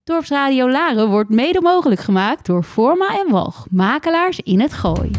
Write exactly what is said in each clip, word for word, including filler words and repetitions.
Dorpsradio Laren wordt mede mogelijk gemaakt door Forma en Walch, makelaars in het Gooi.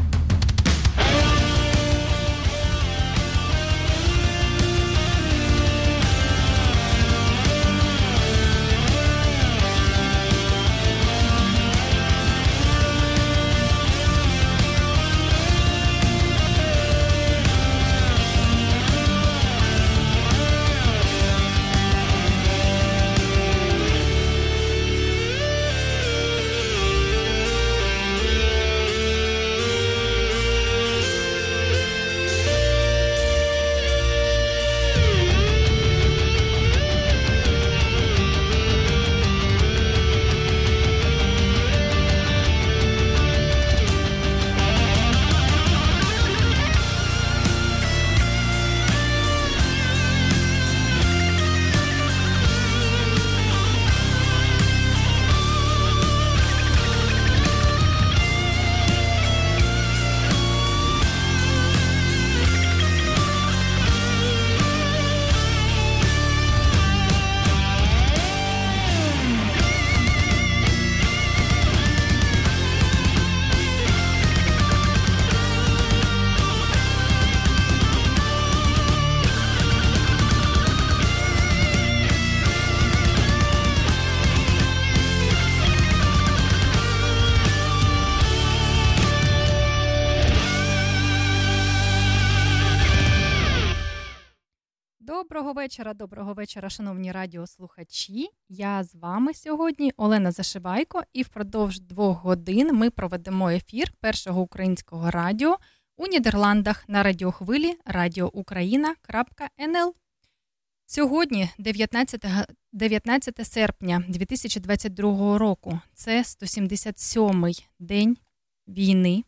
Доброго вечора, доброго вечора, шановні радіослухачі. Я з вами сьогодні Олена Зашивайко, і впродовж двох годин ми проведемо ефір першого українського радіо у Нідерландах на радіохвилі радіоукраїна крапка ен ел. Сьогодні, дев'ятнадцяте серпня дві тисячі двадцять другого року, це сто сімдесят сьомий день війни.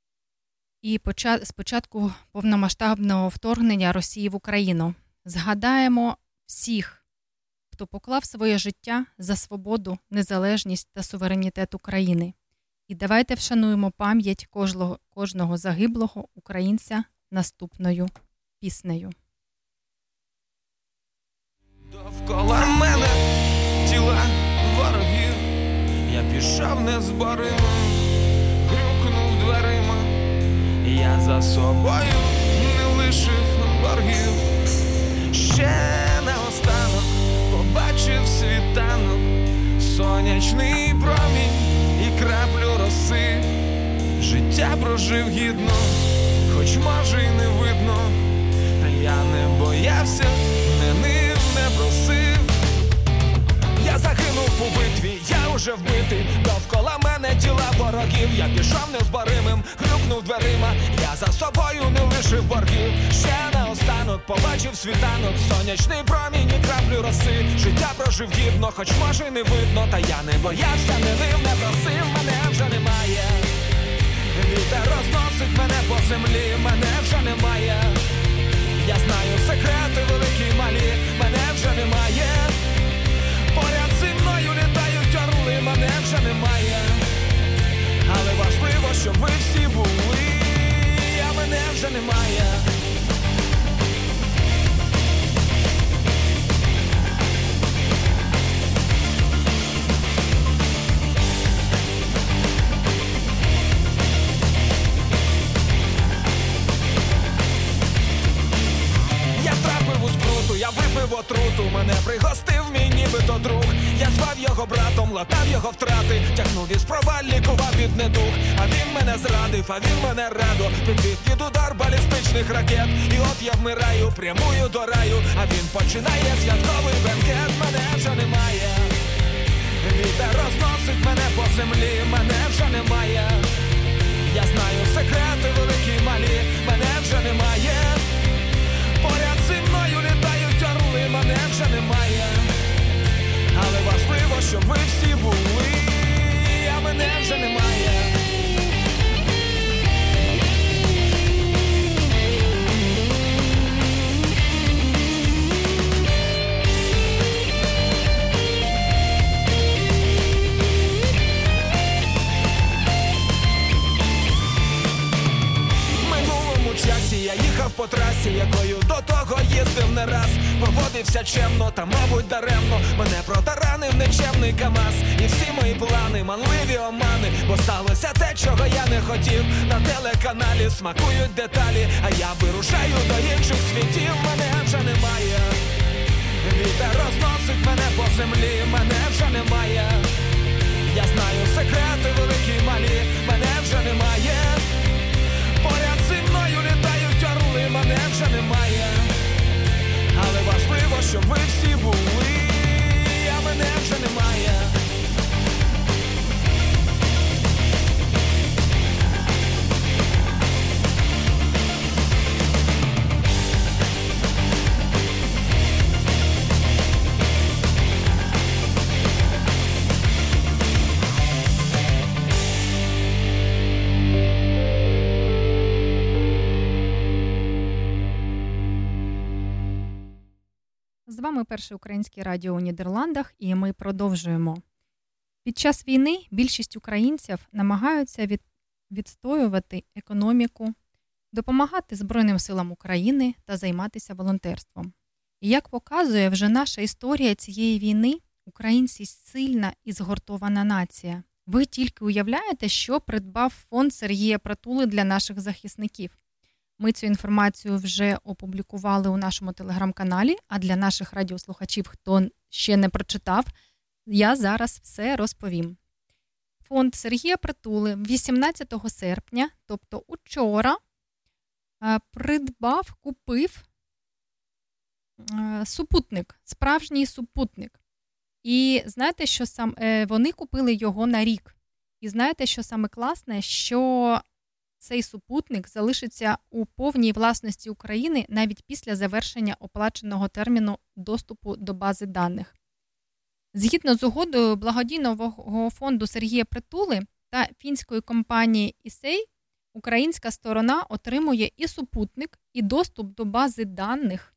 І з початку повномасштабного вторгнення Росії в Україну. Згадаємо всіх, хто поклав своє життя за свободу, незалежність та суверенітет України. І давайте вшануємо пам'ять кожного, кожного загиблого українця наступною піснею. Довкола мене тіла ворогів, я пішов незборимо, грюкнув дверима, я за собою не лишив боргів. Ще наостанок побачив світанок, сонячний промінь і краплю роси. Життя прожив гідно, хоч може й не видно, а я не боявся, не нив, не просив. Я загинув у битві, я уже вбитий, довкола мене тіла ворогів. Я пішов незборимим, грюкнув дверима, я за собою не лишив боргів. Ще наостанок побачив світанок, сонячний промінь і краплю роси. Життя прожив гідно, хоч може й не видно, та я не боявся, не нив, не просив, мене вже немає. Вітер розносить мене по землі, мене вже немає. Я знаю секрети великі й малі, мене вже немає. Поряд зі мною літають орли, мене вже немає. Але важливо, щоб ви всі були, а мене вже немає. Я втрапив у скруту, я випив отруту, мене пригостив мій нібито друг. Я звав його братом, латав його втрати, тягнув із проваль, лікував від недуг. А він мене зрадив, а він мене радо підвів під удар балістичних ракет. І от я вмираю, прямую до раю, а він починає святковий бенкет. Мене вже немає. Вітер розносить мене по землі, мене вже немає. Я знаю секрети великі й малі, мене вже немає. Поряд зі мною літають орли, мене вже немає. Але важливо, щоб ви всі були, а мене вже немає. В минулому часі я їхав по трасі, якою до того їздив не раз. Поводився чемно, та мабуть даремно. Мене протаранив нечемний КамАЗ. І всі мої плани, манливі омани. Бо сталося те, чого я не хотів. На телеканалі смакують деталі, а я вирушаю до інших світів. Мене вже немає. Вітер розносить мене по землі. Мене вже немає. Я знаю секрети великі й малі. Мене вже немає. Поряд зі мною літають орли. Мене вже немає. Але важливо, щоб ви всі були. А мене вже немає. З вами Перше українське радіо у Нідерландах, і ми продовжуємо. Під час війни більшість українців намагаються від... відстоювати економіку, допомагати Збройним силам України та займатися волонтерством. І як показує вже наша історія цієї війни, українці сильна і згуртована нація. Ви тільки уявляєте, що придбав фонд Сергія Притули для наших захисників. Ми цю інформацію вже опублікували у нашому телеграм-каналі, а для наших радіослухачів, хто ще не прочитав, я зараз все розповім. Фонд Сергія Притули вісімнадцятого серпня, тобто учора, придбав, купив супутник, справжній супутник. І знаєте, що сам вони купили його на рік. І знаєте, що саме класне, що цей супутник залишиться у повній власності України навіть після завершення оплаченого терміну доступу до бази даних. Згідно з угодою благодійного фонду Сергія Притули та фінської компанії ІСЕЙ, українська сторона отримує і супутник, і доступ до бази даних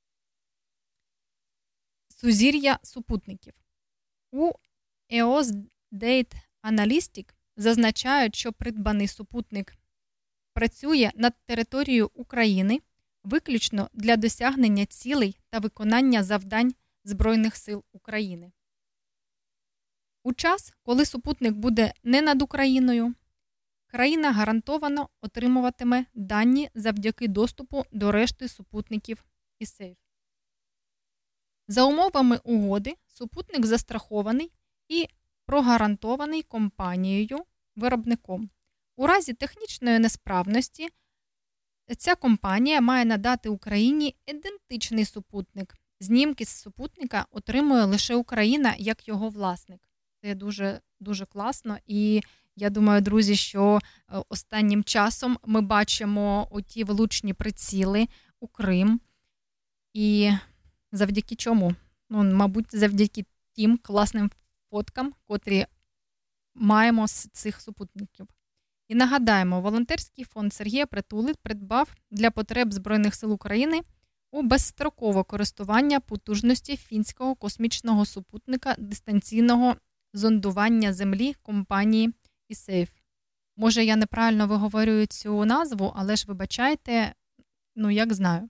сузір'я супутників. У і о ес Data Analytics зазначають, що придбаний супутник працює над територією України виключно для досягнення цілей та виконання завдань Збройних сил України. У час, коли супутник буде не над Україною, країна гарантовано отримуватиме дані завдяки доступу до решти супутників ІСЕЙ. За умовами угоди, супутник застрахований і прогарантований компанією-виробником. У разі технічної несправності ця компанія має надати Україні ідентичний супутник. Знімки з супутника отримує лише Україна як його власник. Це дуже, дуже класно. І я думаю, друзі, що останнім часом ми бачимо оті влучні приціли у Крим. І завдяки чому? Ну, мабуть, завдяки тим класним фоткам, котрі маємо з цих супутників. І нагадаємо, волонтерський фонд Сергія Притули придбав для потреб Збройних сил України у безстрокове користування потужності фінського космічного супутника дистанційного зондування Землі компанії ІСЕЙ. Може, я неправильно виговорюю цю назву, але ж вибачайте, ну як знаю.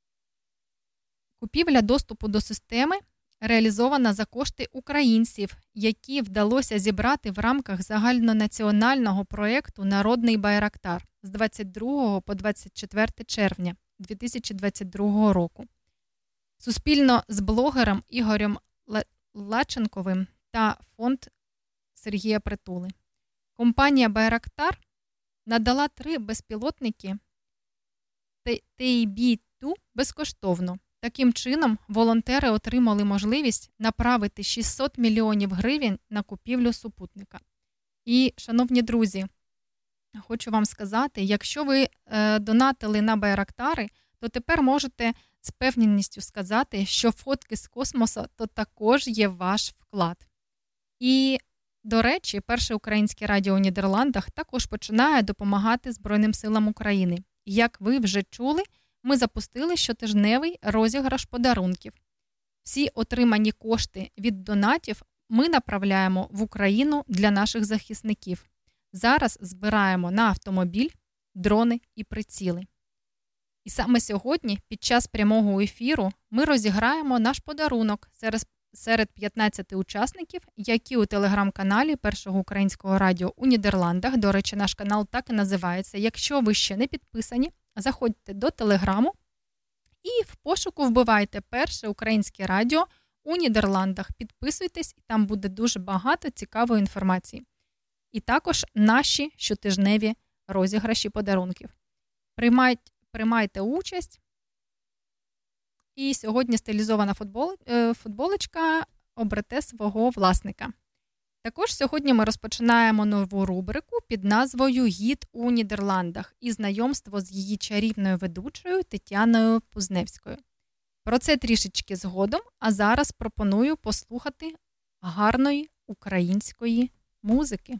Купівля доступу до системи реалізована за кошти українців, які вдалося зібрати в рамках загальнонаціонального проєкту «Народний Байрактар» з двадцять другого по двадцять четверте червня дві тисячі двадцять другого року. Суспільно з блогером Ігорем Лаченковим та фонд Сергія Притули. Компанія «Байрактар» надала три безпілотники Ті бі два безкоштовно. Таким чином, волонтери отримали можливість направити шістсот мільйонів гривень на купівлю супутника. І, шановні друзі, хочу вам сказати, якщо ви е, донатили на Байрактари, то тепер можете з певністю сказати, що фотки з космосу то також є ваш вклад. І, до речі, Перше українське радіо у Нідерландах також починає допомагати Збройним силам України. Як ви вже чули, ми запустили щотижневий розіграш подарунків. Всі отримані кошти від донатів ми направляємо в Україну для наших захисників. Зараз збираємо на автомобіль, дрони і приціли. І саме сьогодні, під час прямого ефіру, ми розіграємо наш подарунок серед, серед п'ятнадцяти учасників, які у телеграм-каналі Першого українського радіо у Нідерландах, до речі, наш канал так і називається. Якщо ви ще не підписані, заходьте до телеграму і в пошуку вбивайте Перше українське радіо у Нідерландах. Підписуйтесь, і там буде дуже багато цікавої інформації. І також наші щотижневі розіграші подарунків. Приймайте, приймайте участь. І сьогодні стилізована футбол, футболочка оберете свого власника. Також сьогодні ми розпочинаємо нову рубрику під назвою «Гід у Нідерландах» і знайомство з її чарівною ведучою Тетяною Пузневською. Про це трішечки згодом, а зараз пропоную послухати гарної української музики.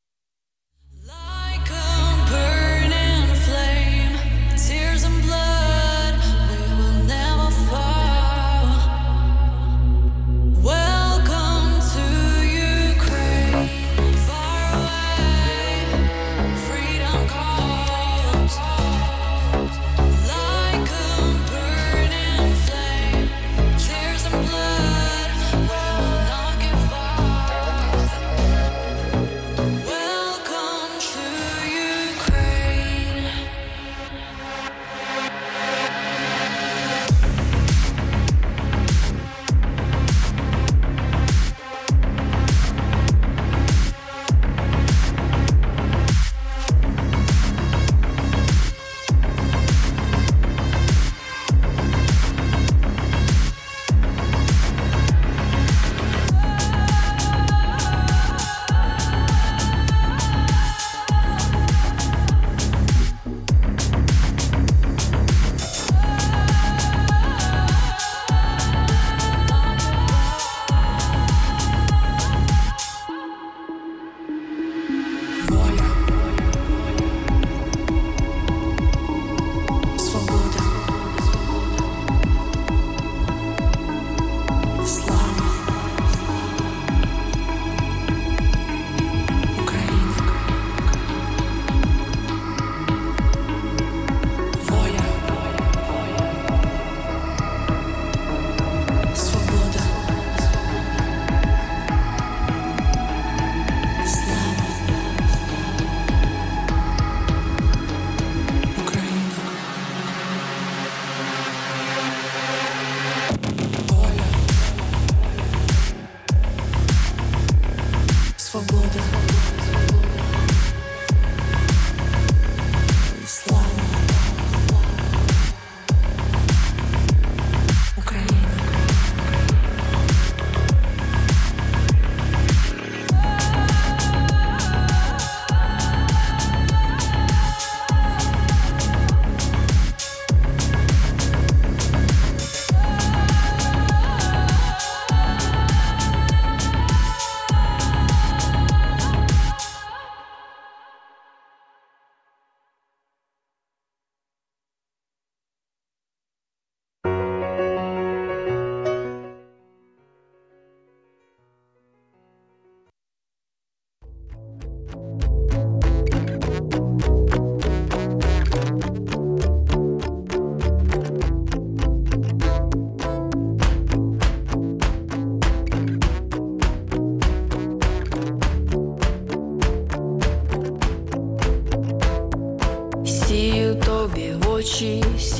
очі,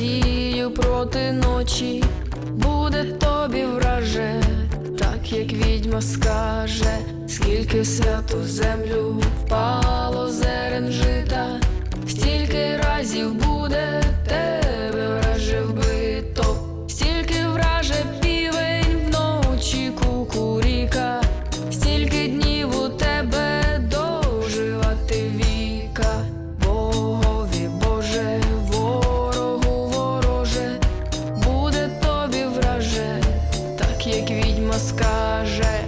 сію проти ночі, буде тобі враже, так як відьма скаже, скільки в святу землю впало зерен жита, стільки разів буде тебе враже вбито, стільки враже півень вночі кукуріка, стільки днів у тебе доживати віка. Богові Боже, ворогу вороже, буде тобі враже, так як відьма скаже.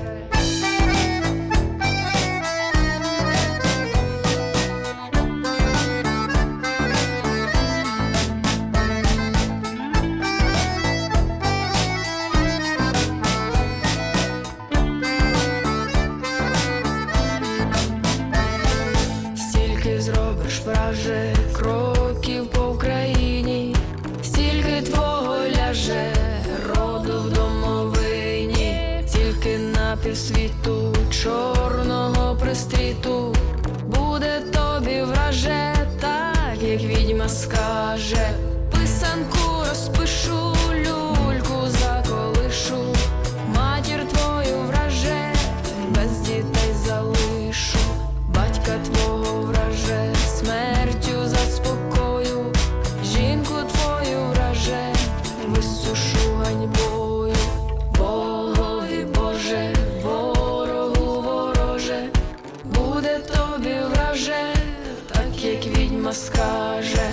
без дітей залишу, батька твого враже, смертю заспокою, жінку твою враже, висушу ганьбою. Богові Боже, ворогу вороже, буде тобі враже, так як відьма скаже.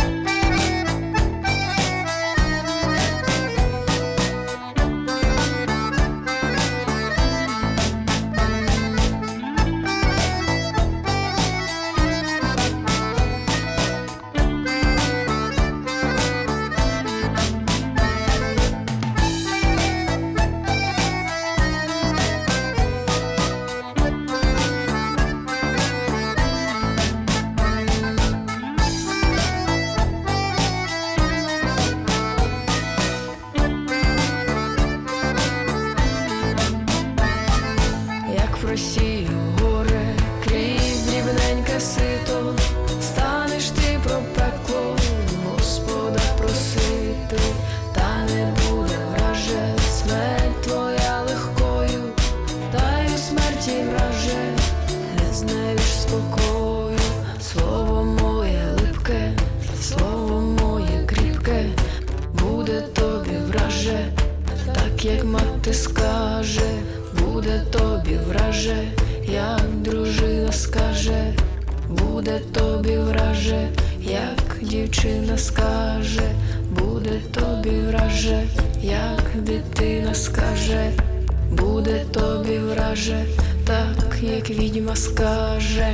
Просію горе, крізь дрібненьке сито, станеш ти про пекло, Господа просити, та не буде враже, смерть твоя легкою, та й у смерті враже, не знайдеш спокою. Слово моє липке, слово моє кріпке, буде тобі враже, так як мати скаже. Буде тобі враже, як дружина скаже, буде тобі враже, як дівчина скаже, буде тобі враже, як дитина скаже, буде тобі враже, так як відьма скаже.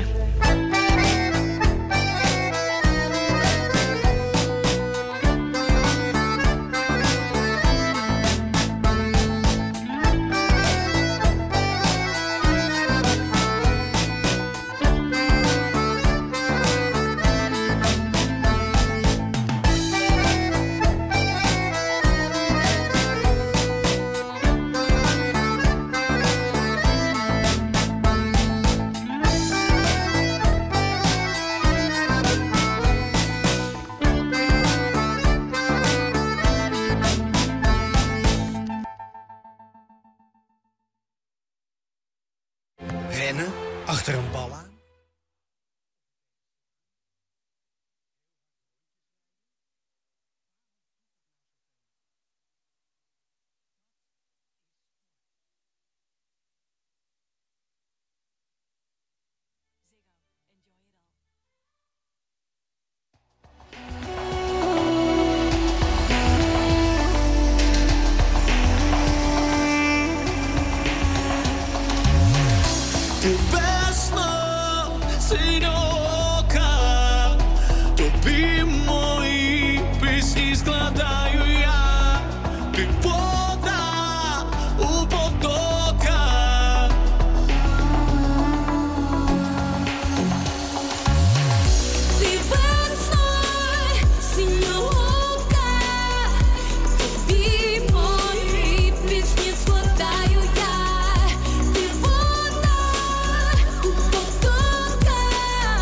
Rennen achter een bal aan. Весно синьока, тобі мої пісні складаю я, ти вода у потоках. Ти весною синьока, тобі мої пісні складаю я, ти вода у потоках.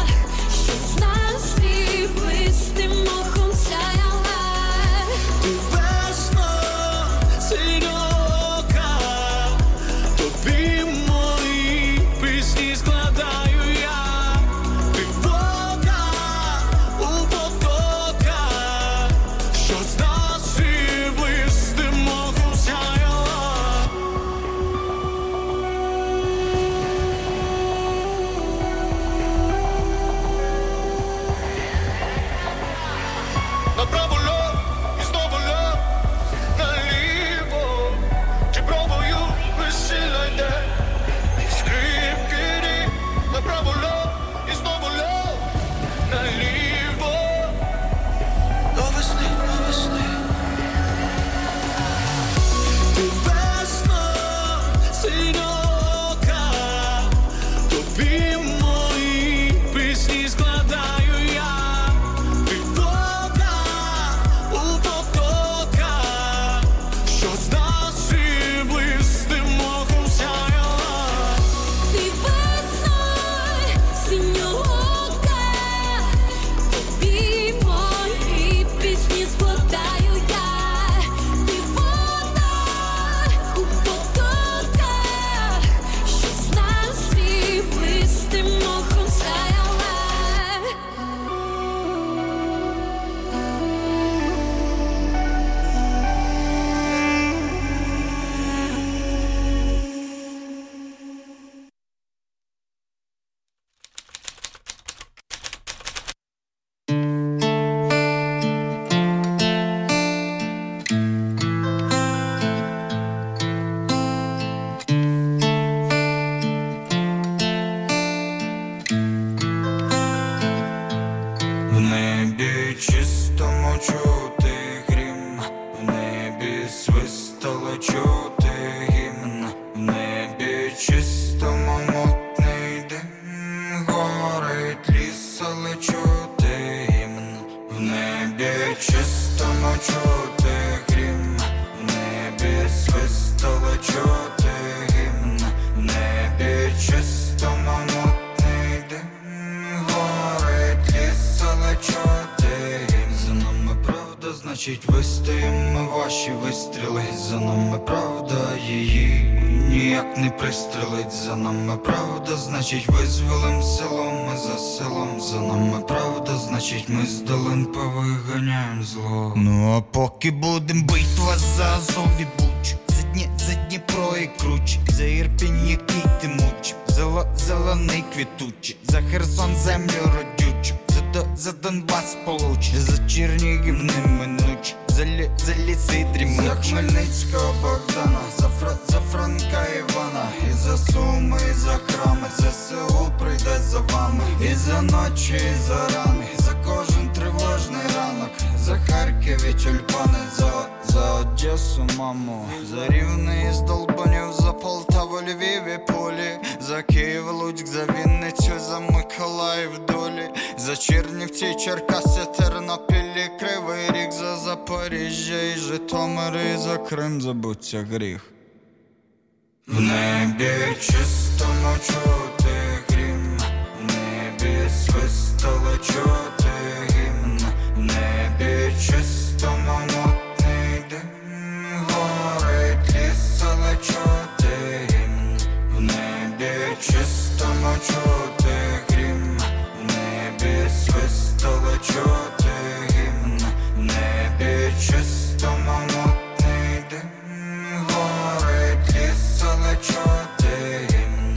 значить вистоїмо ваші вистріли. За нами правда, її ніяк не пристрелить. За нами правда, значить визволим село ми за селом. За нами правда, значить ми з долин повиганяєм зло. Ну а поки будем битва за Азов і Буч, за Дні, за Дніпро і Круч, за Ірпінь, який ти муч, за зелений квітучий, за Херсон землю родючу, за, до, за Донбас получ, за Чернігів неминуч, за, лі, за ліси дрімуч, за Хмельницького Богдана, за, Фра, за Франка Івана, і за Суми, і за храми, ЗСУ прийде за вами, і за ночі, і за рани, за кожен тривожний ранок, за Харків і тюльпани, за, за Одесу, маму, за Рівне із Долбанів, за Полтаву, Львів і Полі, за Київ, Луцьк, за Вінницю, за Миколаїв, долі, за Чернівці, Черкаси, Тернопіль і Кривий Ріг, за Запоріжжя і Житомир, і за Крим забуться гріх. В небі чистому чути грім, в небі свистали чути гімн, в небі чистому мутний дим, горить ліс, але чути гімн, в небі чистому чути грім, в небі свистали чути гімн, в небі чистому мутний дим, горить ліс, але чути гімн.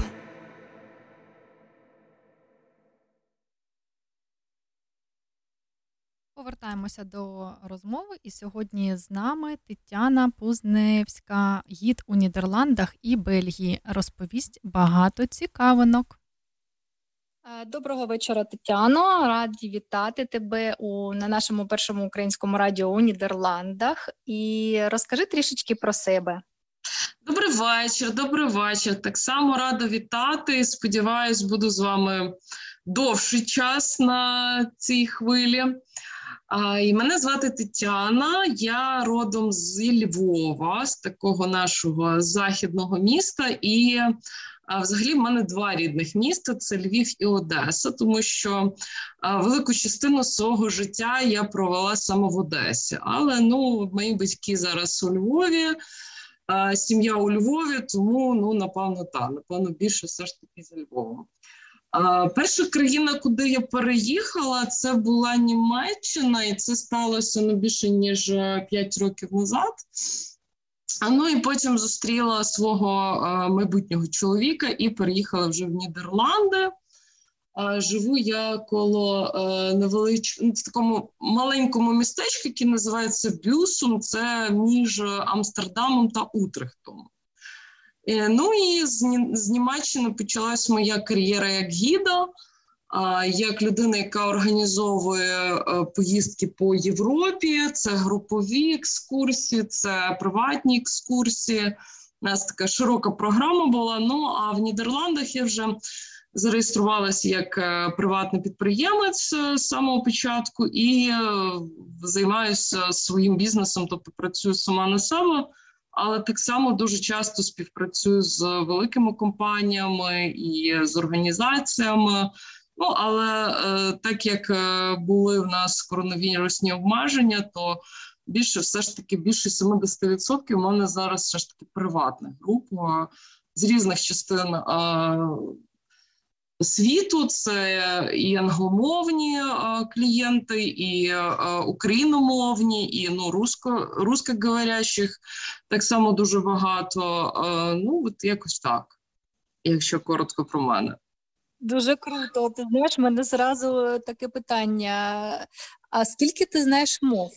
Повертаємося до розмови, і сьогодні з нами Тетяна Пузневська, гід у Нідерландах і Бельгії. Розповість багато цікавинок. Доброго вечора, Тетяно. Раді вітати тебе у, на нашому першому українському радіо у Нідерландах. І розкажи трішечки про себе. Добрий вечір, добрий вечір. Так само рада вітати. Сподіваюсь, буду з вами довший час на цій хвилі. А, і мене звати Тетяна, я родом з Львова, з такого нашого західного міста. І а, взагалі в мене два рідних міста – це Львів і Одеса, тому що а, велику частину свого життя я провела саме в Одесі. Але ну, мої батьки зараз у Львові, а, сім'я у Львові, тому ну, напевно, так, напевно, більше все ж таки за Львовом. А, перша країна, куди я переїхала, це була Німеччина, і це сталося не більше, ніж п'ять років назад. А, ну і потім зустріла свого а, майбутнього чоловіка і переїхала вже в Нідерланди. А, живу я коло невеличкого, в такому маленькому містечку, яке називається Бюсум, це між Амстердамом та Утрехтом. Ну і з, з Німеччини почалась моя кар'єра як гіда, як людина, яка організовує поїздки по Європі. Це групові екскурсії, це приватні екскурсії. У нас така широка програма була. Ну а в Нідерландах я вже зареєструвалася як приватний підприємець з самого початку і займаюся своїм бізнесом, тобто працюю сама на себе. Але так само дуже часто співпрацюю з великими компаніями і з організаціями. Ну, але е, так як е, були в нас коронавірусні обмеження, то більше все ж таки, більше сімдесят відсотків у мене зараз все ж таки приватна група з різних частин е, світу. Це і англомовні а, клієнти, і а, україномовні, і ну, русско, русскоговорящих так само дуже багато. А, ну, от якось так, якщо коротко про мене. Дуже круто. Ти знаєш, в мене зразу таке питання. А скільки ти знаєш мов?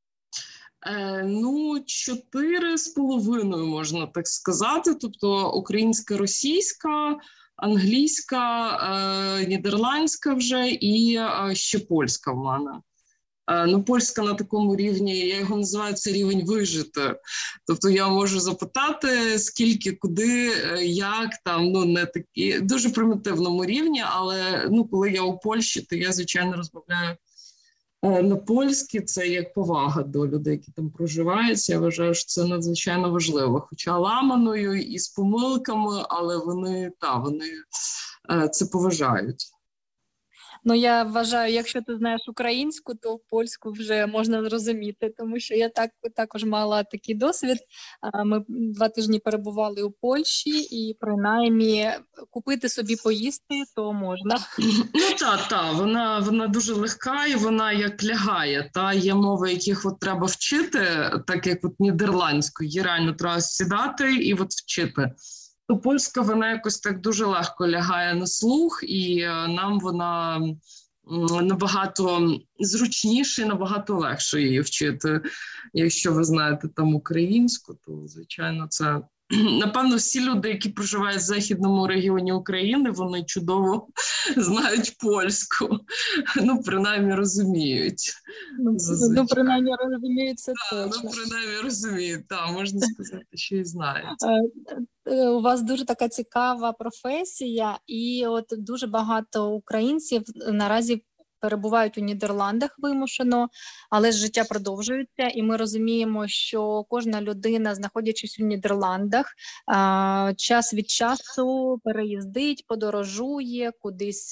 Е, ну, чотири з половиною, можна так сказати. Тобто українська, російська, англійська, е, нідерландська вже і е, ще польська в мене. Е, ну, польська на такому рівні, я його називаю, це рівень вижити. Тобто я можу запитати, скільки, куди, е, як, там, ну, не такі, дуже примітивному рівні, але, ну, коли я у Польщі, то я, звичайно, розмовляю е, на польській. Це як повага до людей, які там проживають. Я вважаю, що це надзвичайно важливо. Хоча ламаною і з помилками, але вони, та, вони е, це поважають. Ну, я вважаю, якщо ти знаєш українську, то польську вже можна зрозуміти, тому що я так, також мала такий досвід. Ми два тижні перебували у Польщі, і принаймні купити собі поїсти то можна. Ну, так, так, вона, вона дуже легка і вона як лягає. Та є мови, яких от треба вчити, так як от нідерландську, її реально треба сідати і от вчити. То польська, вона якось так дуже легко лягає на слух, і нам вона набагато зручніше і набагато легше її вчити. Якщо ви знаєте там українську, то, звичайно, це... Напевно, всі люди, які проживають в західному регіоні України, вони чудово знають польську. Ну, принаймні, розуміють. Зазвичай. Ну, принаймні, розуміють це да, точно. Ну, принаймні, розуміють, так, можна сказати, що і знають. У вас дуже така цікава професія, і от дуже багато українців наразі перебувають у Нідерландах вимушено, але ж життя продовжується, і ми розуміємо, що кожна людина, знаходячись у Нідерландах, час від часу переїздить, подорожує, кудись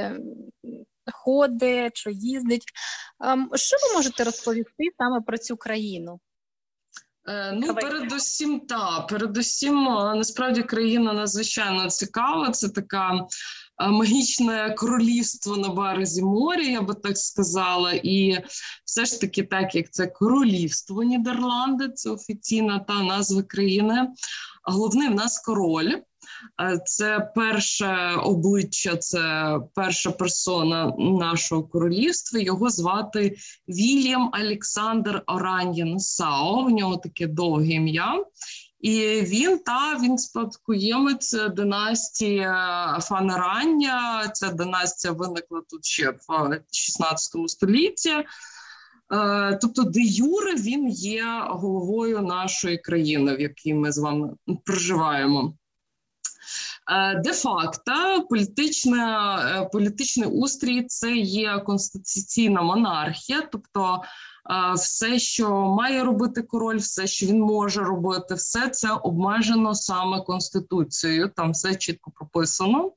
ходить чи їздить. Що ви можете розповісти саме про цю країну? Ну, передусім, так, передусім, насправді, країна надзвичайно цікава, це така магічне королівство на березі моря, я би так сказала, і все ж таки так, як це королівство Нідерланди, це офіційна та назва країни, головний в нас король. Це перше обличчя, це перша персона нашого королівства. Його звати Вільям Олександр Ораньє-Нассау, в нього таке довге ім'я. І він, та, він спадкоємець династії Фан Орання. Ця династія виникла тут ще в шістнадцятому столітті. Тобто, де юре він є головою нашої країни, в якій ми з вами проживаємо. Де-факто політичний устрій – це є конституційна монархія, тобто все, що має робити король, все, що він може робити, все це обмежено саме Конституцією, там все чітко прописано.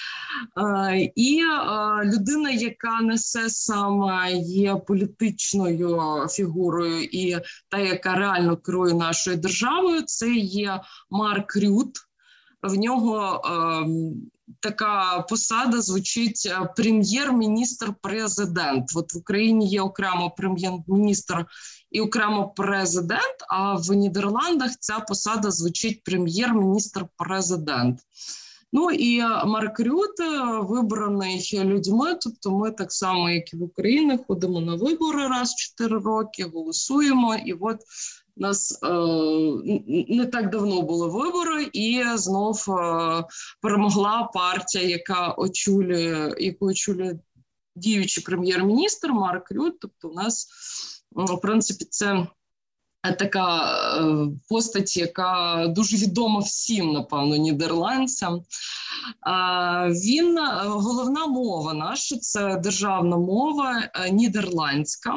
І людина, яка несе саме є політичною фігурою і та, яка реально керує нашою державою, це є Марк Рют. В нього е, така посада звучить прем'єр-міністр-президент. От в Україні є окремо прем'єр-міністр і окремо президент, а в Нідерландах ця посада звучить прем'єр-міністр-президент. Ну і Марк Рют вибраний людьми, тобто ми так само, як і в Україні, ходимо на вибори раз в чотири роки, голосуємо, і от у нас е, не так давно були вибори, і знов е, перемогла партія, яка очолює, яку очолює діючий прем'єр-міністр Марк Рют. Тобто у нас, в принципі, це така е, постать, яка дуже відома всім, напевно, нідерландцям. Е, він, головна мова наша, це державна мова е, нідерландська.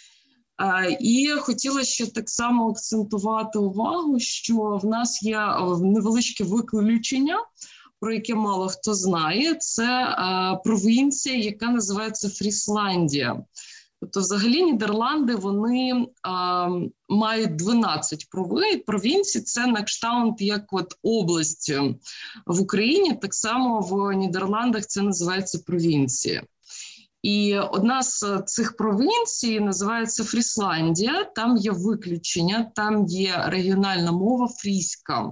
І хотіла ще так само акцентувати увагу, що в нас є невеличке виключення, про яке мало хто знає. Це провінція, яка називається Фрісландія. Тобто взагалі Нідерланди, вони а, мають дванадцять провінцій, це на кшталт як от область в Україні, так само в Нідерландах це називається провінція. І одна з цих провінцій називається Фрісландія, там є виключення, там є регіональна мова фріська.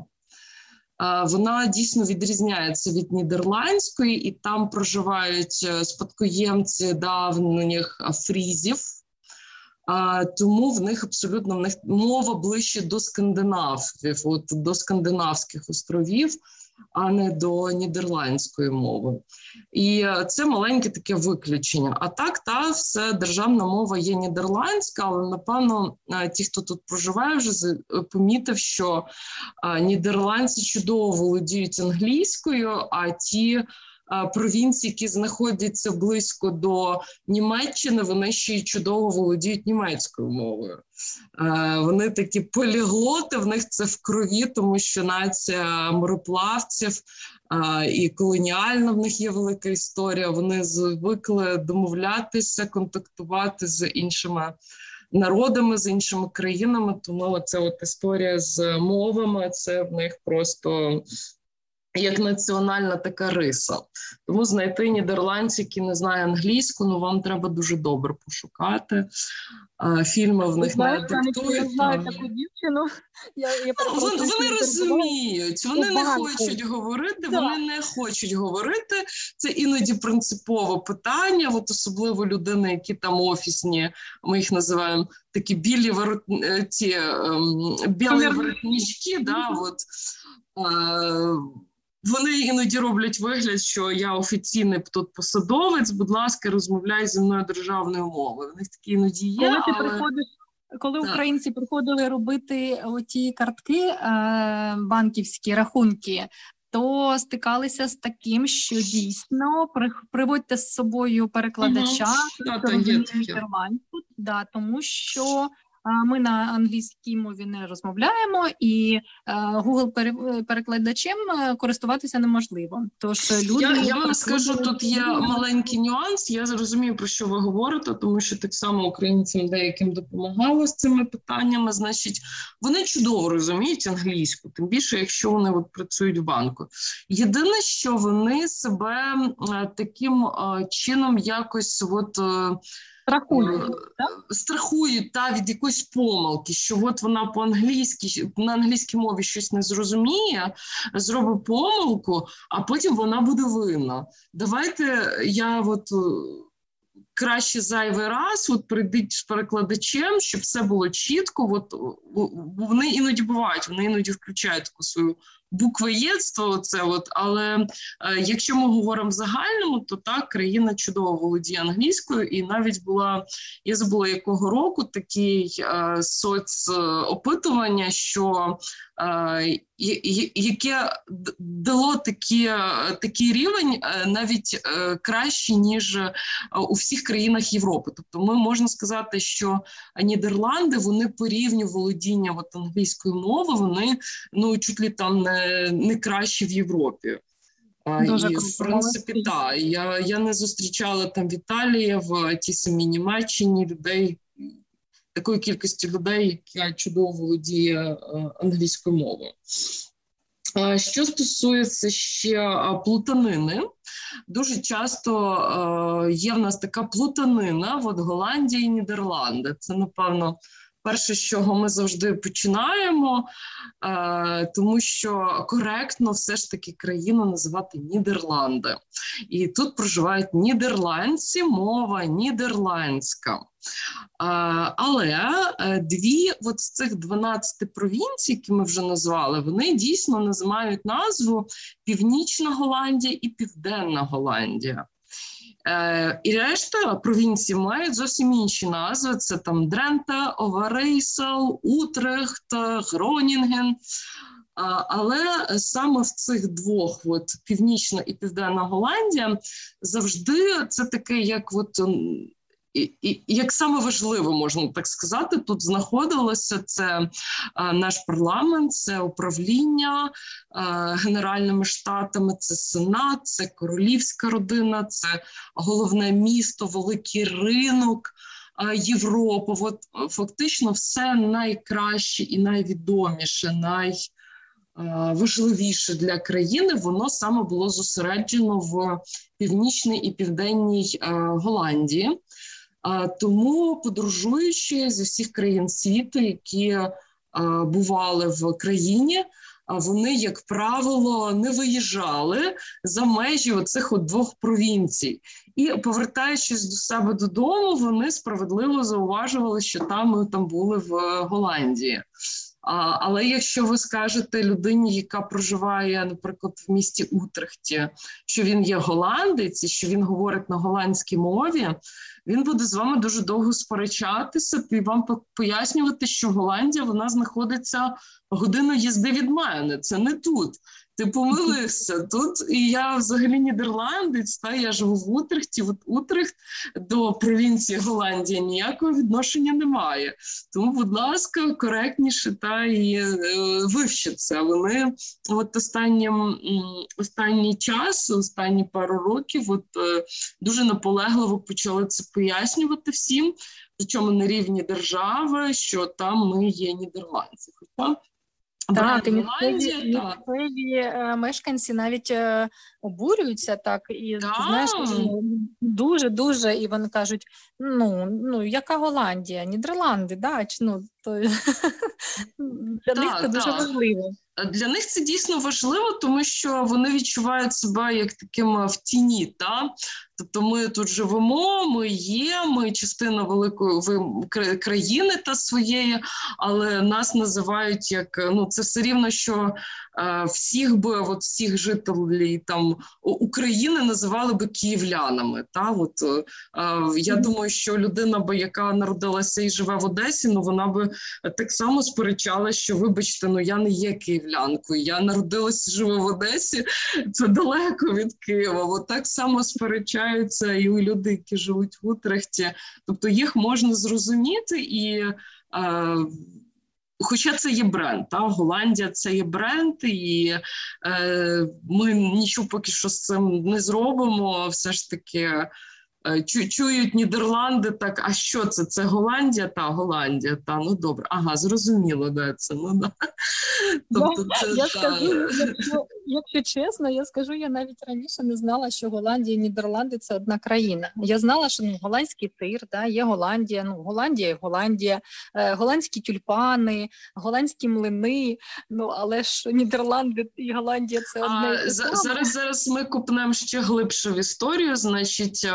Вона дійсно відрізняється від нідерландської, і там проживають спадкоємці давніх фрізів, тому в них абсолютно в них мова ближче до скандинавів, от, до скандинавських островів, а не до нідерландської мови. І це маленьке таке виключення. А так, та, все, державна мова є нідерландська, але, напевно, ті, хто тут проживає, вже помітив, що нідерландці чудово володіють англійською, а ті провінції, які знаходяться близько до Німеччини, вони ще й чудово володіють німецькою мовою. Вони такі поліглоти, в них це в крові, тому що нація мореплавців а, і колоніальна в них є велика історія. Вони звикли домовлятися, контактувати з іншими народами, з іншими країнами, тому це от історія з мовами, це в них просто як національна така риса. Тому знайти нідерландців, які не знають англійську, ну вам треба дуже добре пошукати. А, фільми в них не диктують. Я знаю таку дівчину. Я, я ну, вони, вони розуміють, вони не хочуть говорити, так. вони не хочуть говорити. Це іноді принципове питання, от особливо людини, які там офісні, ми їх називаємо такі білі ворот, ті, ем, білі воротнички, да, от, е, вони іноді роблять вигляд, що я офіційний тут посадовець, будь ласка, розмовляй зі мною державною мовою. У них такі іноді є, коли ти але... приходиш, коли так. українці приходили робити оті картки, е, банківські рахунки, то стикалися з таким, що дійсно при, приводьте з собою перекладача, угу. да, нідерландську, да, тому що ми на англійській мові не розмовляємо, і Google-перекладачем користуватися неможливо. Тож люди... Я, я вам скажу, тут є маленький нюанс, я зрозумію, про що ви говорите, тому що так само українцям деяким допомагало з цими питаннями, значить, вони чудово розуміють англійську, тим більше, якщо вони от працюють в банку. Єдине, що вони себе таким чином якось от... Страхують, страхують та, від якоїсь помилки, що от вона по-англійськи, на англійській мові щось не зрозуміє, зробить помилку, а потім вона буде винна. Давайте я от краще зайвий раз от прийдіть з перекладачем, щоб все було чітко. От, вони іноді бувають, вони іноді включають таку свою буквоєдство, це от, але е, якщо ми говоримо в загальному, то так, країна чудово володіє англійською, і навіть була, я забула якого року, такий е, соцопитування, що е, яке дало такі, такий рівень е, навіть е, краще, ніж е, у всіх країнах Європи. Тобто ми можна сказати, що Нідерланди, вони по рівню володіння от, англійською мовою, вони ну, чуть ли там не не краще в Європі. Дуже і, в принципі, так. Я, я не зустрічала там в Італії, в тій самій Німеччині людей, такої кількості людей, яка чудово володіє англійською мовою. Що стосується ще плутанини, дуже часто є в нас така плутанина от Голландія і Нідерланди. Це, напевно, перше, з чого ми завжди починаємо, е, тому що коректно все ж таки країну називати Нідерланди. І тут проживають нідерландці, мова нідерландська. Е, але дві от з цих дванадцяти провінцій, які ми вже назвали, вони дійсно мають назву Північна Голландія і Південна Голландія. І решта провінцій мають зовсім інші назви. Це там Дрента, Оверейсел, Утрехт, Гронінген. Але саме в цих двох, от, Північна і Південна Голландія, завжди це таке, як от... І, і, як саме важливо, можна так сказати, тут знаходилося це а, наш парламент, це управління а, Генеральними Штатами, це Сенат, це королівська родина, це головне місто, великий ринок а, Європи. От, фактично все найкраще і найвідоміше, найважливіше для країни, воно саме було зосереджено в Північній і Південній а, Голландії. А, тому, подорожуючи зі всіх країн світу, які а, бували в країні, а вони, як правило, не виїжджали за межі оцих от двох провінцій. І, повертаючись до себе додому, вони справедливо зауважували, що там ми там були в Голландії. А, але якщо ви скажете людині, яка проживає, наприклад, в місті Утрехті, що він є голландець і що він говорить на голландській мові, він буде з вами дуже довго сперечатися і вам пояснювати, що Голландія, вона знаходиться годину їзди від мене, це не тут. Ти помилився. Тут і я взагалі нідерландець, та я живу в Утрехті. От Утрехт до провінції Голландія ніякого відношення немає. Тому, будь ласка, коректніше та і е, вивчіть це. Вони от останнім останній час, останні пару років, от е, дуже наполегливо почали це пояснювати всім, причому на рівні держави, що там ми є нідерландці. Хоча Так, і місцеві, місцеві е, мешканці навіть е, обурюються так, і Так. знаєш, дуже-дуже, і вони кажуть, ну, ну яка Голландія, Нідерланди, да, чи, ну, то, для Так, них це дуже так. важливо. Для них це дійсно важливо, тому що вони відчувають себе як таким в тіні, та? Тобто ми тут живемо, ми є, ми частина великої ви- країни та своєї, але нас називають як, ну це все рівно, що е, всіх би, от всіх жителів там України називали би київлянами, та? От, е, я думаю, що людина би, яка народилася і живе в Одесі, ну вона би так само сперечалася, що вибачте, ну я не є київлянкою, я народилася і живу в Одесі, це далеко від Києва. От так само сперечаються і у людей, які живуть в Утрехті. Тобто їх можна зрозуміти і е, хоча це є бренд, та? Голландія – це є бренд, і е, ми нічого поки що з цим не зробимо, все ж таки Чу, чують Нідерланди, так, а що це? Це Голландія? Та, Голландія, та, ну добре. Ага, зрозуміло, де це, ну да. Тобто це, я та... скажу, якщо, якщо чесно, я скажу, я навіть раніше не знала, що Голландія і Нідерланди – це одна країна. Я знала, що ну, голландський тир, да, є Голландія, ну, Голландія і Голландія, е, голландські тюльпани, голландські млини, ну, але ж Нідерланди і Голландія – це одне і те саме. Зараз, зараз ми купнемо ще глибше в історію, значить,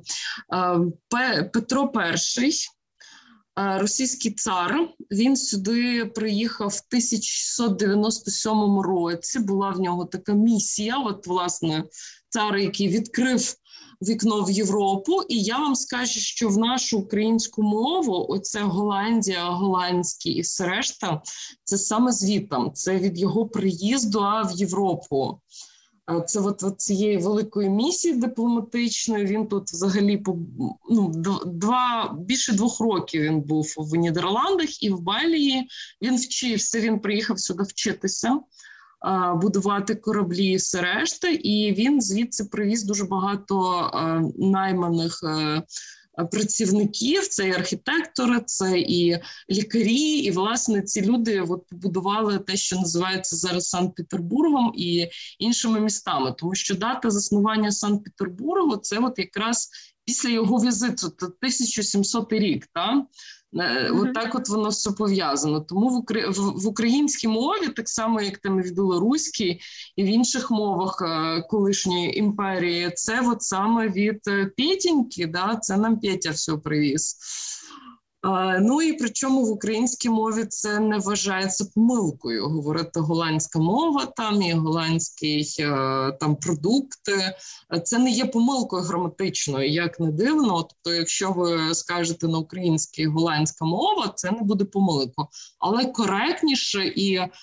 Петро І, російський цар, він сюди приїхав в тисяча шістсот дев'яносто сьомому році, була в нього така місія, от, власне, цар, який відкрив вікно в Європу, і я вам скажу, що в нашу українську мову оце Голландія, голландський і все решта, це саме звітом, це від його приїзду в Європу. Це от, от цієї великої місії дипломатичної, він тут взагалі ну, два, більше двох років він був в Нідерландах і в Бельгії. Він вчився, він приїхав сюди вчитися, будувати кораблі і все решта, і він звідси привіз дуже багато найманих працівників, це і архітектори, це і лікарі, і, власне, ці люди от побудували те, що називається зараз Санкт-Петербургом і іншими містами, тому що дата заснування Санкт-Петербургу – це от якраз після його візиту, тисяча сімсотий рік, так? Mm-hmm. От так от воно все пов'язано. Тому в, Украї... в українській мові, так само, як там і в білоруській, і в інших мовах колишньої імперії, це от саме від Петеньки, да? Це нам Петя все привіз. А, ну і причому в українській мові це не вважається помилкою. Говорити голландська мова там і голландський там продукти. Це не є помилкою граматичною, як не дивно. Тобто, якщо ви скажете на українській голландська мова, це не буде помилкою. Але коректніше і е,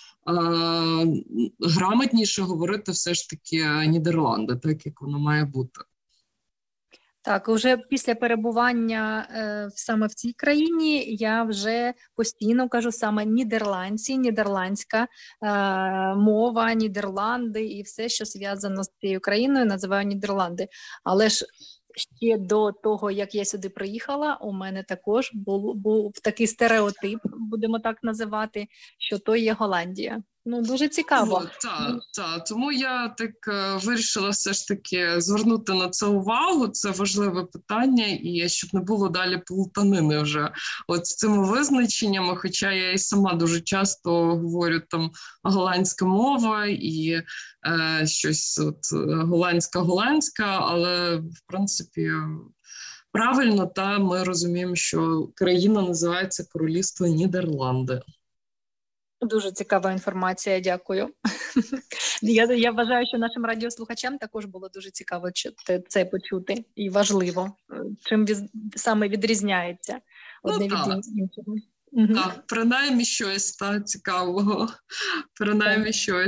грамотніше говорити все ж таки Нідерланди, так як воно має бути. Так, уже після перебування е, саме в цій країні я вже постійно кажу саме нідерландці, нідерландська е, мова, Нідерланди і все, що зв'язано з цією країною, називаю Нідерланди. Але ж ще до того, як я сюди приїхала, у мене також був, був такий стереотип, будемо так називати, що то є Голландія. Ну, дуже цікаво. Ну, так, так. Тому я так е, вирішила все ж таки звернути на це увагу. Це важливе питання, і щоб не було далі плутанини вже от з цими визначеннями, хоча я і сама дуже часто говорю там голландська мова і е, щось от голландська-голландська, але в принципі правильно, та ми розуміємо, що країна називається Королівство Нідерланди. Дуже цікава інформація, дякую. я, я вважаю, що нашим радіослухачам також було дуже цікаво це почути і важливо, чим від, саме відрізняється одне ну, від іншого. Так, принаймні щось та, цікавого, принаймні так. щось.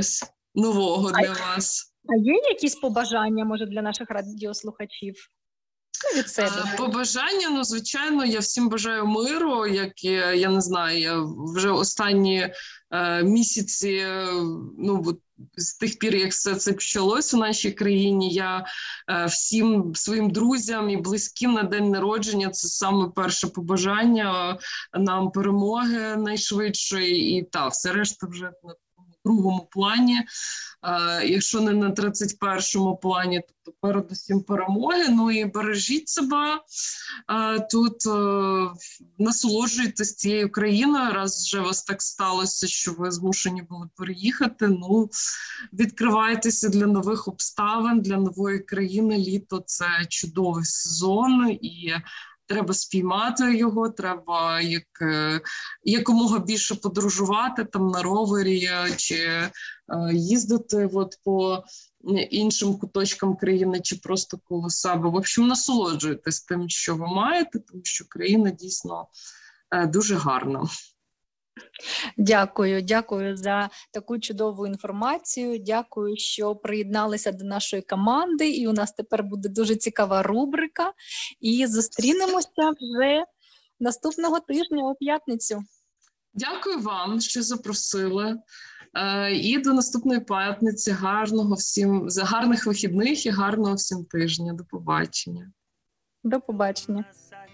нового для вас. А є якісь побажання, може, для наших радіослухачів? Ну, від себе. Побажання, ну, звичайно, я всім бажаю миру, як я, я не знаю, я вже останні е, місяці, е, ну, от, з тих пір, як все це почалось у нашій країні, я е, всім своїм друзям і близьким на день народження, це саме перше побажання, е, нам перемоги найшвидшої, і та, все решта вже на другому плані, е, якщо не на тридцять першому плані, то передусім перемоги. Ну і бережіть себе е, тут, е, насолоджуйтесь цією країною, раз вже вас так сталося, що ви змушені були переїхати, ну, відкривайтеся для нових обставин, для нової країни. Літо – це чудовий сезон, і треба спіймати його, треба як, якомога більше подорожувати там на ровері чи е, їздити от по іншим куточкам країни чи просто коло себе. В общем, насолоджуйтесь тим, що ви маєте, тому що країна дійсно е, дуже гарна. Дякую, дякую за таку чудову інформацію. Дякую, що приєдналися до нашої команди. І у нас тепер буде дуже цікава рубрика. І зустрінемося вже наступного тижня у п'ятницю. Дякую вам, що запросили. Е, і до наступної п'ятниці. Гарного всім, за гарних вихідних і гарного всім тижня. До побачення. До побачення.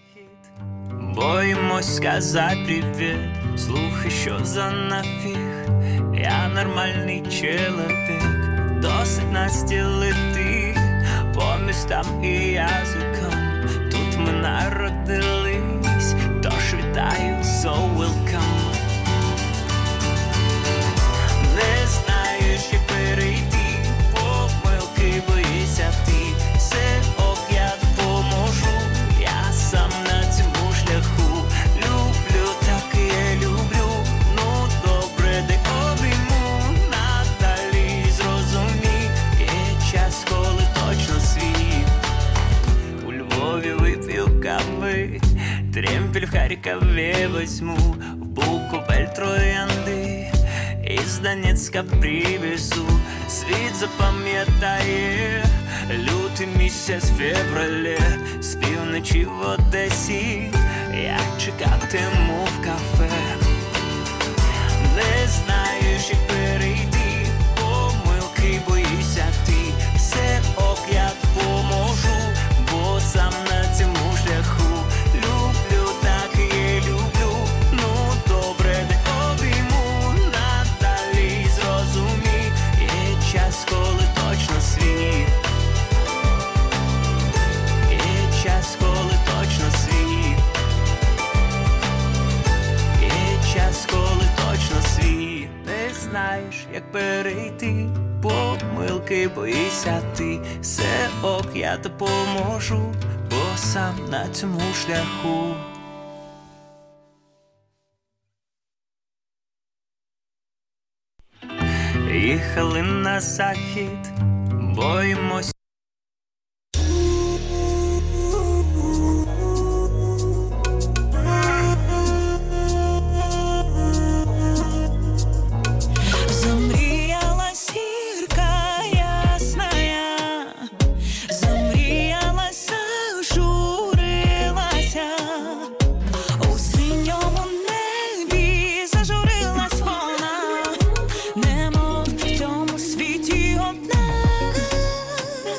Боїмось сказати привіт, слухай, що за нафіг. Я нормальний чоловік, досить настілити по містам і язикам. Тут ми народились, тож вітаю, so welcome. Не знаєш, як перейти помилки, боїшся ти. Все ок, я допоможу, я сам на цьому шляху. Люблю, так і я люблю, ну добре, де обійму. Надалі зрозумій, є час, коли точно свій. У Львові вип'ю кави, Тремпель в Харкові возьму, в Буковель троянди, із Донецька привезу. Світ запам'ятає лютий місяць в февралі, з півночі в Одесі я чекатиму в кафе. Не знаєш, як перейти помилки, боїшся ти. Все ок, я допоможу, бо сам на цьому шляху. Люблю, так і я люблю, ну добре, де обійму. Надалі зрозумій, є час, коли точно свій. Є час, коли точно свій. Є час, коли точно свій. Не знаєш, як перейти помилки, боїшся ти. Все ок, я допоможу, бо сам на цьому шляху. Їхали на захід, боїмось. Замріяла зірка ясная, замріялася, журилася, у синьому небі зажурилась вона, немов в цьому світі одна.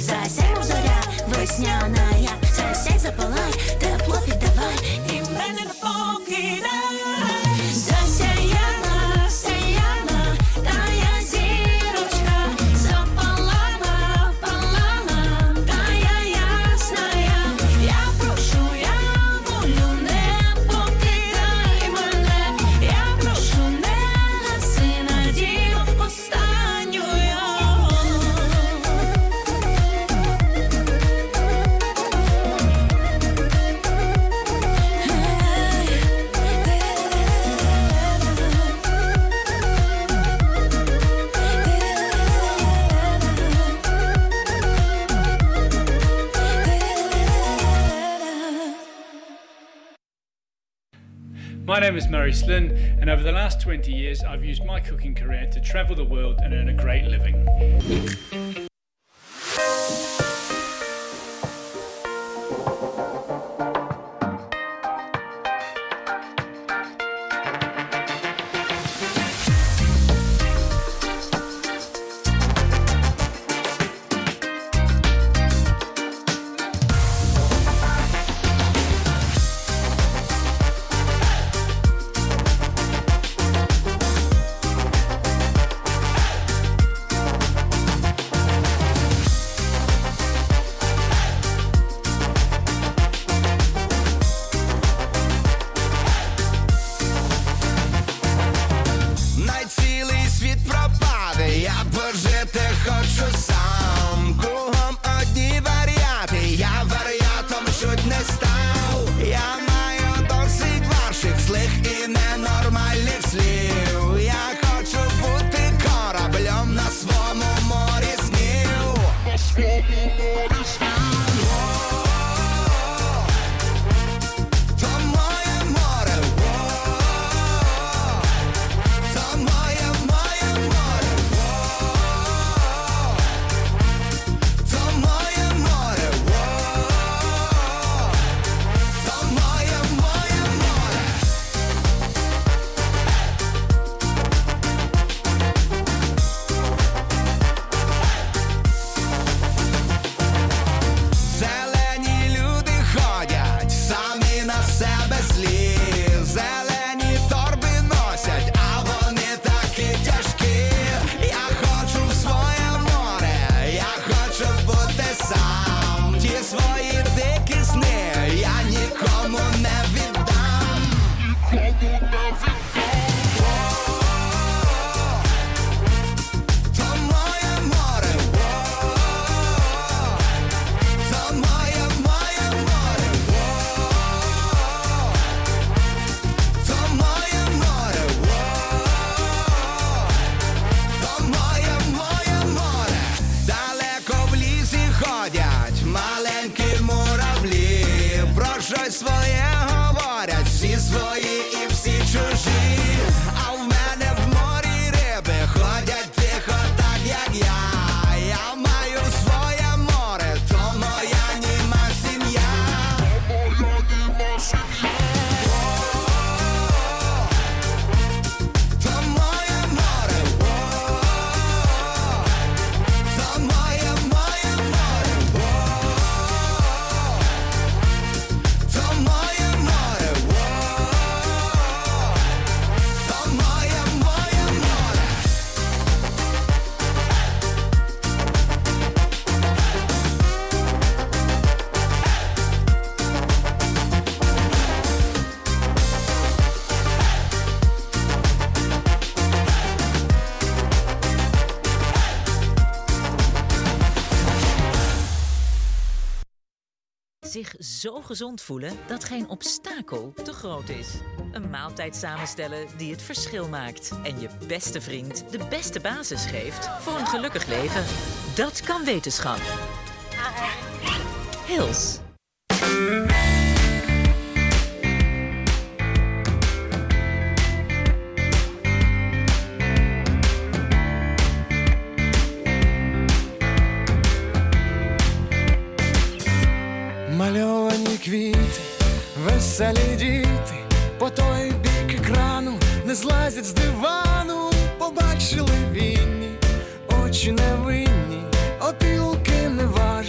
засяй, мов зоря весняна, засяй, запалай, тепло віддавай, і мене не покидай. Засяяна, сяяна, тая зірочка, запалала, палала, тая ясная. Я прошу, я молю, не покидай мене. Я прошу, не гаси надію останню. My name is Murray Slynn, and over the last twenty years I've used my cooking career to travel the world and earn a great living. Най цілий світ пропаде, я пожити хочу сам. Кругом одні варіати, я варіатом чуть не став. Я маю досить ваших злих і ненормальних слів. Я хочу бути кораблем на своєму морі снів. На своєму морі снів. То моє море, то моє, моє море, то моє море, то моє, моє море. Зелені люди ходять, самі на себе злі. Зелені торби носять, а вони такі тяжкі. Я хочу в своє море, я хочу бути сам. Ті свої дикі сни я нікому не віддам. Нікому не віддам. То моє море, то моє, моє море, то моє море, то моє, моє море. Далеко в лісі ходять маленькі муравлі. Про щось своє говорять, всі свої і всі чужі. А в мене в морі риби ходять тихо, так як я. Я маю своє море, то моя німа сім'я. То моя німа сім'я. То моє море, то моє, моє море, то моє море, то моє, моє море. Zich zo gezond voelen dat geen obstakel te groot is. Een maaltijd samenstellen die het verschil maakt. En je beste vriend de beste basis geeft voor een gelukkig leven. Dat kan wetenschap. Hils. Мальовані квіти, веселі діти, по той бік екрану не злазять з дивану. Побачили вінні, очі невинні, опілки не важні.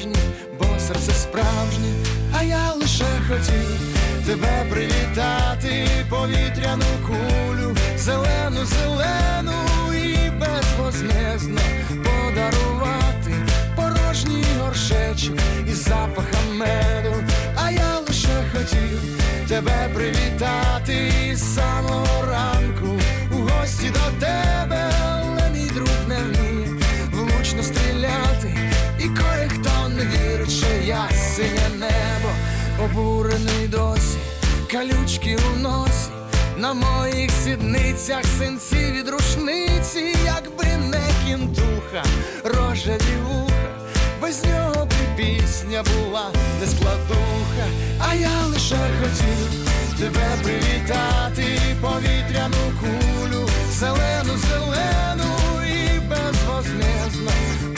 серце справжнє, а я лише хотів тебе привітати, повітряну кулю, зелену, зелену і безвозмездно подарувати порожній горшечок із запахом меду. А я лише хотів тебе привітати із самого ранку у гості до тебе, але мій друг не вміє влучно стріляти, і кое-хто не вірить, що я синє небо, обурений досі, калючки у носі, на моїх сідницях синці від рушниці, якби не кінтуха, рожеві вуха, без нього б і пісня була не складуха. А я лише хотів тебе привітати, повітряну кулю, зелену, зелену і безвозмездно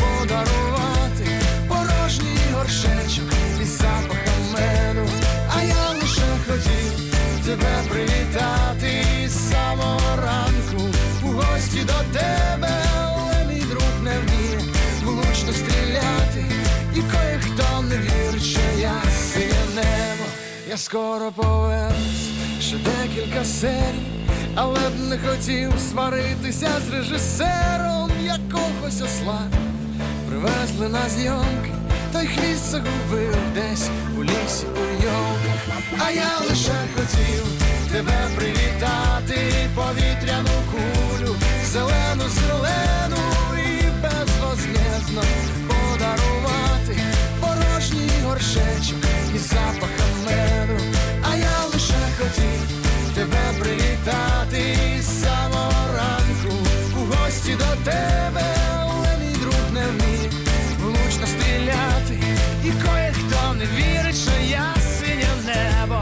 подарувати порожній горшечок із запахом меду. А я лише хотів тебе привітати із самого ранку у гості до тебе, але мій друг не вміє влучно стріляти, і кое-хто не вірить, що я синє небо. Я скоро повернусь, ще декілька серій, але б не хотів сваритися з режисером якогось осла. Привезли на зйомки, той хвіст загубив десь у лісі у йолках. А я лише хотів тебе привітати, повітряну кулю, зелену, зелену і безвозмездно подарувати порожній горшечок із запахом меду. А я лише хотів тебе привітати із самого ранку у гості до тебе, але мій друг не вміє влучно стріляти, і кое-хто не вірить, що я синє небо.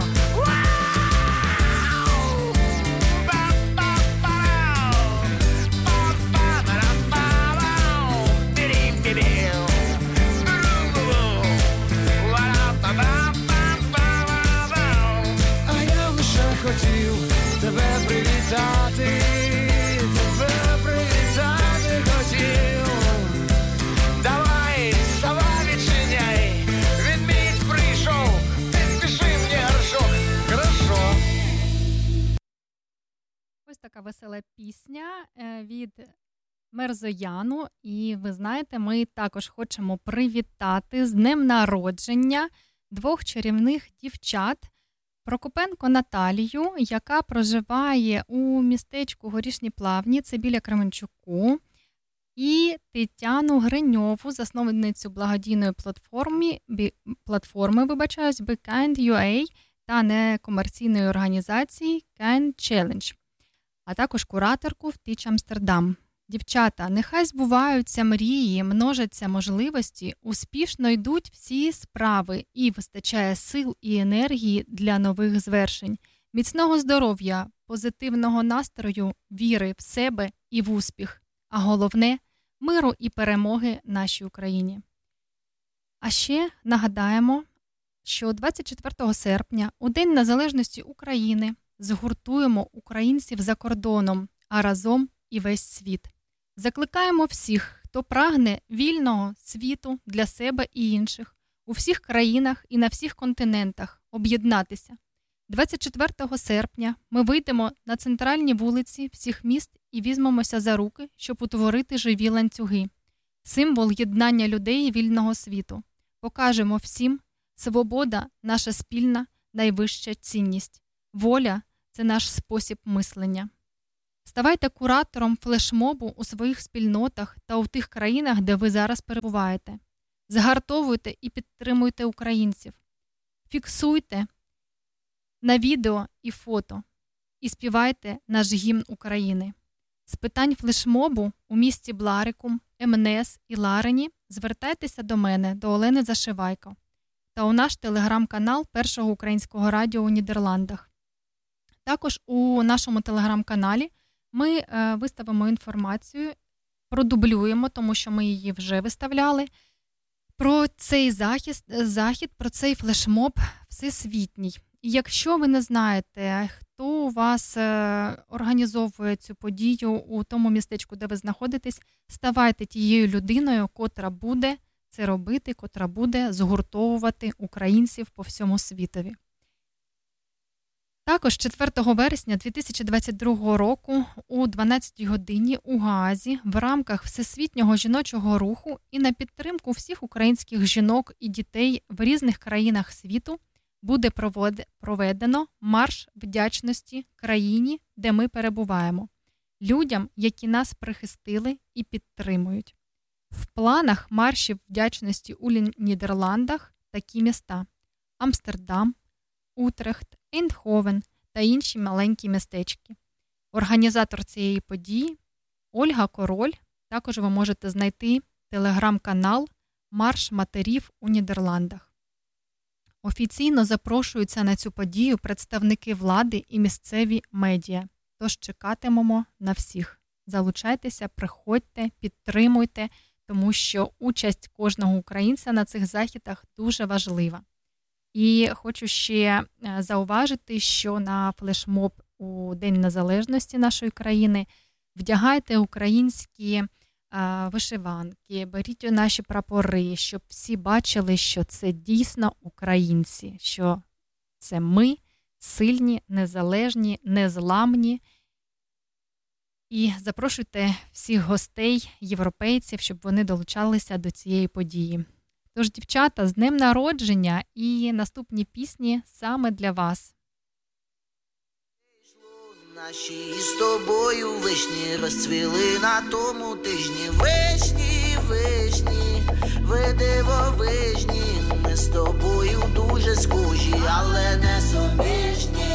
А я лише хотів тебе привітати, тебе привітати хотів. Давай, давай відчиняй, відмінь прийшов, підпиши мені горшок, хорошо. Ось така весела пісня е, від Мерзояну. І ви знаєте, ми також хочемо привітати з днем народження двох чарівних дівчат. Прокопенко Наталію, яка проживає у містечку Горішні Плавні, це біля Кременчуку, і Тетяну Гриньову, засновницю благодійної платформи, платформи вибачаюсь, Be Kind ю ей та некомерційної організації Kind Challenge, а також кураторку в Teach Amsterdam. Дівчата, нехай збуваються мрії, множаться можливості, успішно йдуть всі справи і вистачає сил і енергії для нових звершень. Міцного здоров'я, позитивного настрою, віри в себе і в успіх. А головне – миру і перемоги нашій Україні. А ще нагадаємо, що двадцять четвертого серпня, у День Незалежності України, згуртуємо українців за кордоном, а разом і весь світ. Закликаємо всіх, хто прагне вільного світу для себе і інших, у всіх країнах і на всіх континентах об'єднатися. двадцять четвертого серпня ми вийдемо на центральні вулиці всіх міст і візьмемося за руки, щоб утворити живі ланцюги. Символ єднання людей і вільного світу. Покажемо всім, свобода – наша спільна, найвища цінність. Воля – це наш спосіб мислення. Ставайте куратором флешмобу у своїх спільнотах та у тих країнах, де ви зараз перебуваєте. Згартовуйте і підтримуйте українців. Фіксуйте на відео і фото і співайте наш гімн України. З питань флешмобу у місті Бларикум, Емнес і Ларені звертайтеся до мене, до Олени Зашивайко, та у наш телеграм-канал Першого українського радіо у Нідерландах. Також у нашому телеграм-каналі ми е, виставимо інформацію, продублюємо, тому що ми її вже виставляли, про цей захід, захід, про цей флешмоб всесвітній. І якщо ви не знаєте, хто у вас е, організовує цю подію у тому містечку, де ви знаходитесь, ставайте тією людиною, котра буде це робити, котра буде згуртовувати українців по всьому світові. Також четвертого вересня дві тисячі двадцять другого року о дванадцятій годині у Гаазі в рамках Всесвітнього жіночого руху і на підтримку всіх українських жінок і дітей в різних країнах світу буде проведено марш вдячності країні, де ми перебуваємо, людям, які нас прихистили і підтримують. В планах маршів вдячності у Нідерландах такі міста – Амстердам, Утрехт, Ейндховен та інші маленькі містечки. Організатор цієї події – Ольга Король. Також ви можете знайти телеграм-канал «Марш матерів у Нідерландах». Офіційно запрошуються на цю подію представники влади і місцеві медіа. Тож чекатимемо на всіх. Залучайтеся, приходьте, підтримуйте, тому що участь кожного українця на цих західах дуже важлива. І хочу ще зауважити, що на флешмоб у День Незалежності нашої країни вдягайте українські а, вишиванки, беріть наші прапори, щоб всі бачили, що це дійсно українці, що це ми, сильні, незалежні, незламні. І запрошуйте всіх гостей, європейців, щоб вони долучалися до цієї події. Тож, дівчата, з днем народження і наступні пісні саме для вас. Наші з тобою вишні розцвіли на тому тижні. Вишні, вишні, ви дивовижні. Ми з тобою дуже схожі, але не суміжні.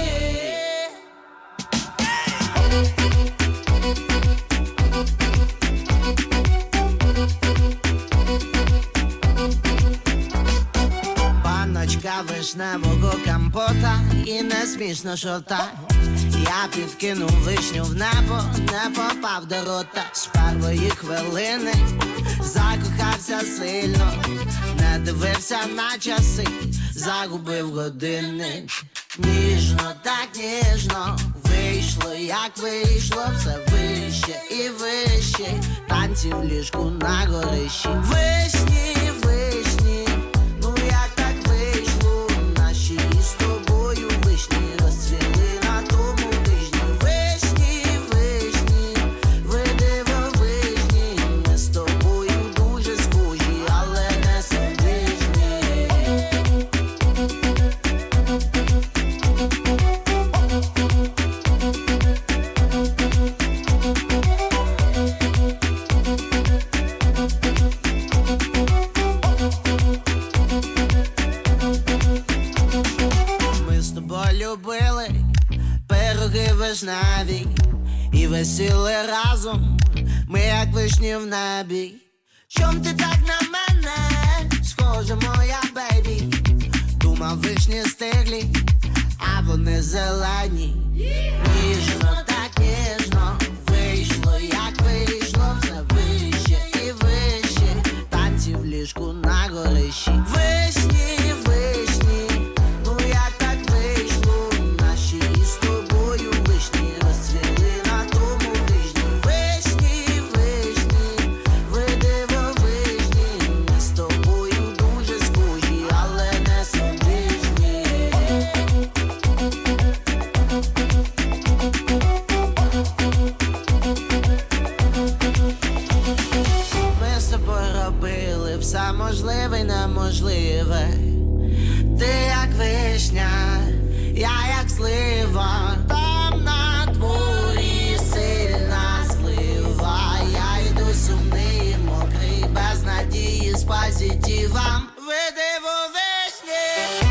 Паночка вишневого компота і не смішно шота. Я підкинув вишню в небо, не попав до рота. З першої хвилини закохався сильно, не дивився на часи, загубив години. Ніжно, так ніжно, вийшло, як вийшло, все вище і вище, танці в ліжку на горищі. Вишні, вишні, ну як так вийшло, наші з тобою вишні розцвіли на тому тижні. Вишні, вишні, ви дивовижні, ми з тобою дуже схожі, але не суміжні. Любили пироги вишневі і весіли разом, ми як вишні в небі. Чом ти так на мене схожа, моя бейбі? Думав, вишні стиглі, а вони зелені. Ніжно, так ніжно, вийшло, як вийшло, все вище і вище, танці в ліжку на горищі. Вишні, вишні, ну як так вийшло, наші з тобою вишні розцвіли на тому тижні. Вишні, вишні, ви дивовижні, ми з тобою дуже схожі, але не суміжні. Ми з тобою робили все можливе й неможливе. Ти як вишня, я як слива, там на дворі сильна злива. Я йду сумний, мокрий, без надії, з позитивом. Ви дивовижні.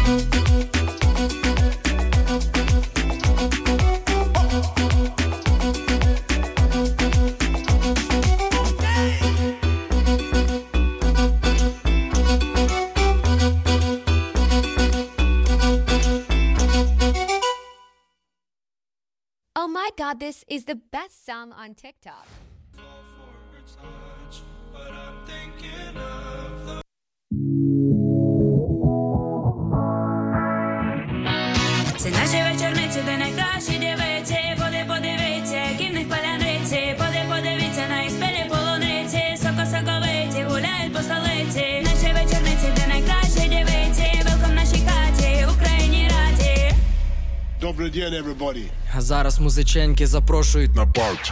Oh my god, this is the best song on TikTok. Це наші вечорниці, де найкращі дівиці. Поди, подивіться, які в них паляниці. Поди, подивіться на їх спілі полуниці. Соко-соковиті гуляють по столиці. Наші Добрий день, everybody. А зараз музиченьки запрошують на парті.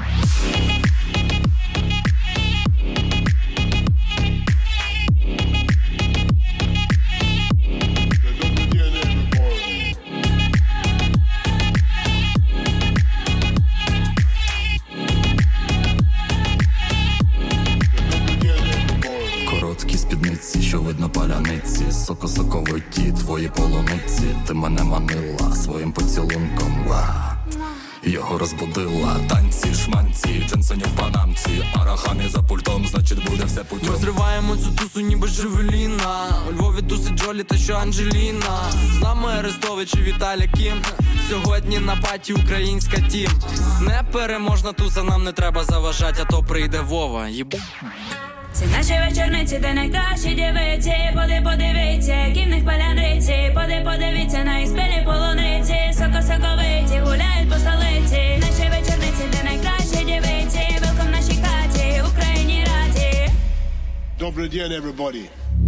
Що видно паляниці, соко-соковиті твої полуниці. Ти мене манила своїм поцілунком, ва. Його розбудила. Танці, шманці, джинсоні в панамці. Арахамі за пультом, значить буде все путем. Ми зриваємо цю тусу ніби Джевеліна. У Львові тусить Джолі та що Анджеліна. З нами Арестович і Віталя Кім. Сьогодні на паті українська тім. Непереможна туса, нам не треба заважать, а то прийде Вова, їбу. Це наші вечорниці, де найкращі дівиці. Поди подивіться, які в них паляниці. Поди подивіться на їх спілі полуниці. Соко-соковиті гуляють по столиці. Наші вечорниці, де найкращі дівиці. Велком в нашій хаті, Україні раді. Добрий день, everybody.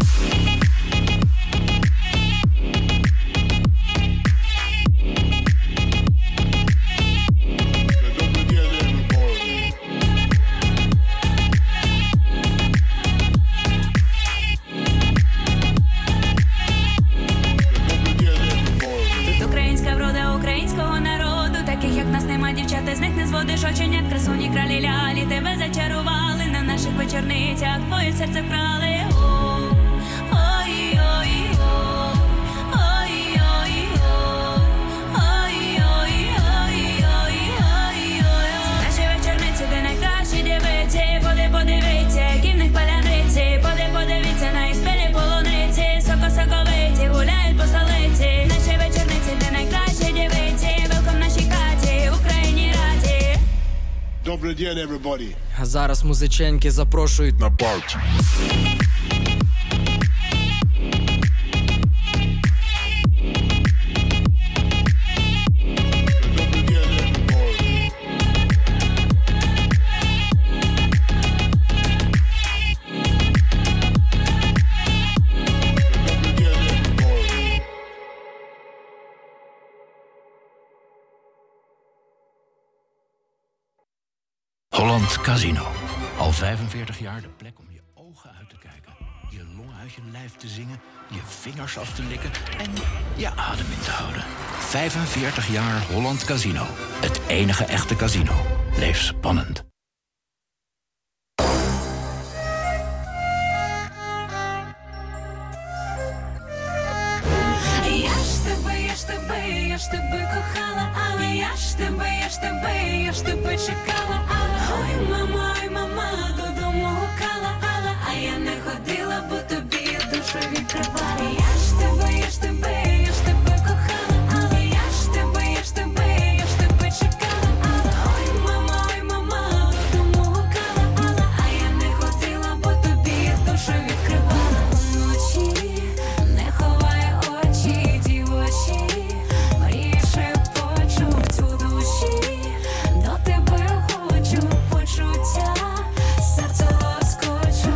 Дівчата з них не зводиш оченят, красуні кралі лялі. Тебе зачарували на наших вечорницях, твоє серце вкрали. Наші вечорниці, де найкращі дівиці. Поди подивіться, які в них паляниці. Поди подивіться на їх спілі полуниці. Соко-соковиті гуляють по столиці. Наші вечорниці, де найкращі дівиці. Велком в нашій хаті, Україні раді. Добрий день, everybody. А зараз музиченьки запрошують на парті. Holland Casino. Al vijfenveertig jaar de plek om je ogen uit te kijken, je longen uit je lijf te zingen, je vingers af te likken en je adem in te houden. vijfenveertig jaar Holland Casino. Het enige echte casino. Leef spannend. Я ж тебе, я ж тебе, я ж тебе кохала, але я ж тебе, я ж тебе, я ж тебе чекала, але ой, мама, ой, мама, додому гукала, але а я не ходила, бо тобі душу відкривала. Я ж тебе, я ж тебе, я ж тебе кохала, але я ж тебе, я ж тебе, я ж тебе чекала, але ой, мама, ой, мама, додому гукала, але а я не ходила, бо тобі душу відкривала. Вночі не ховай очі, дівочі, мрії шепочуть у душі, до тебе хочу почуття, серце лоскочу.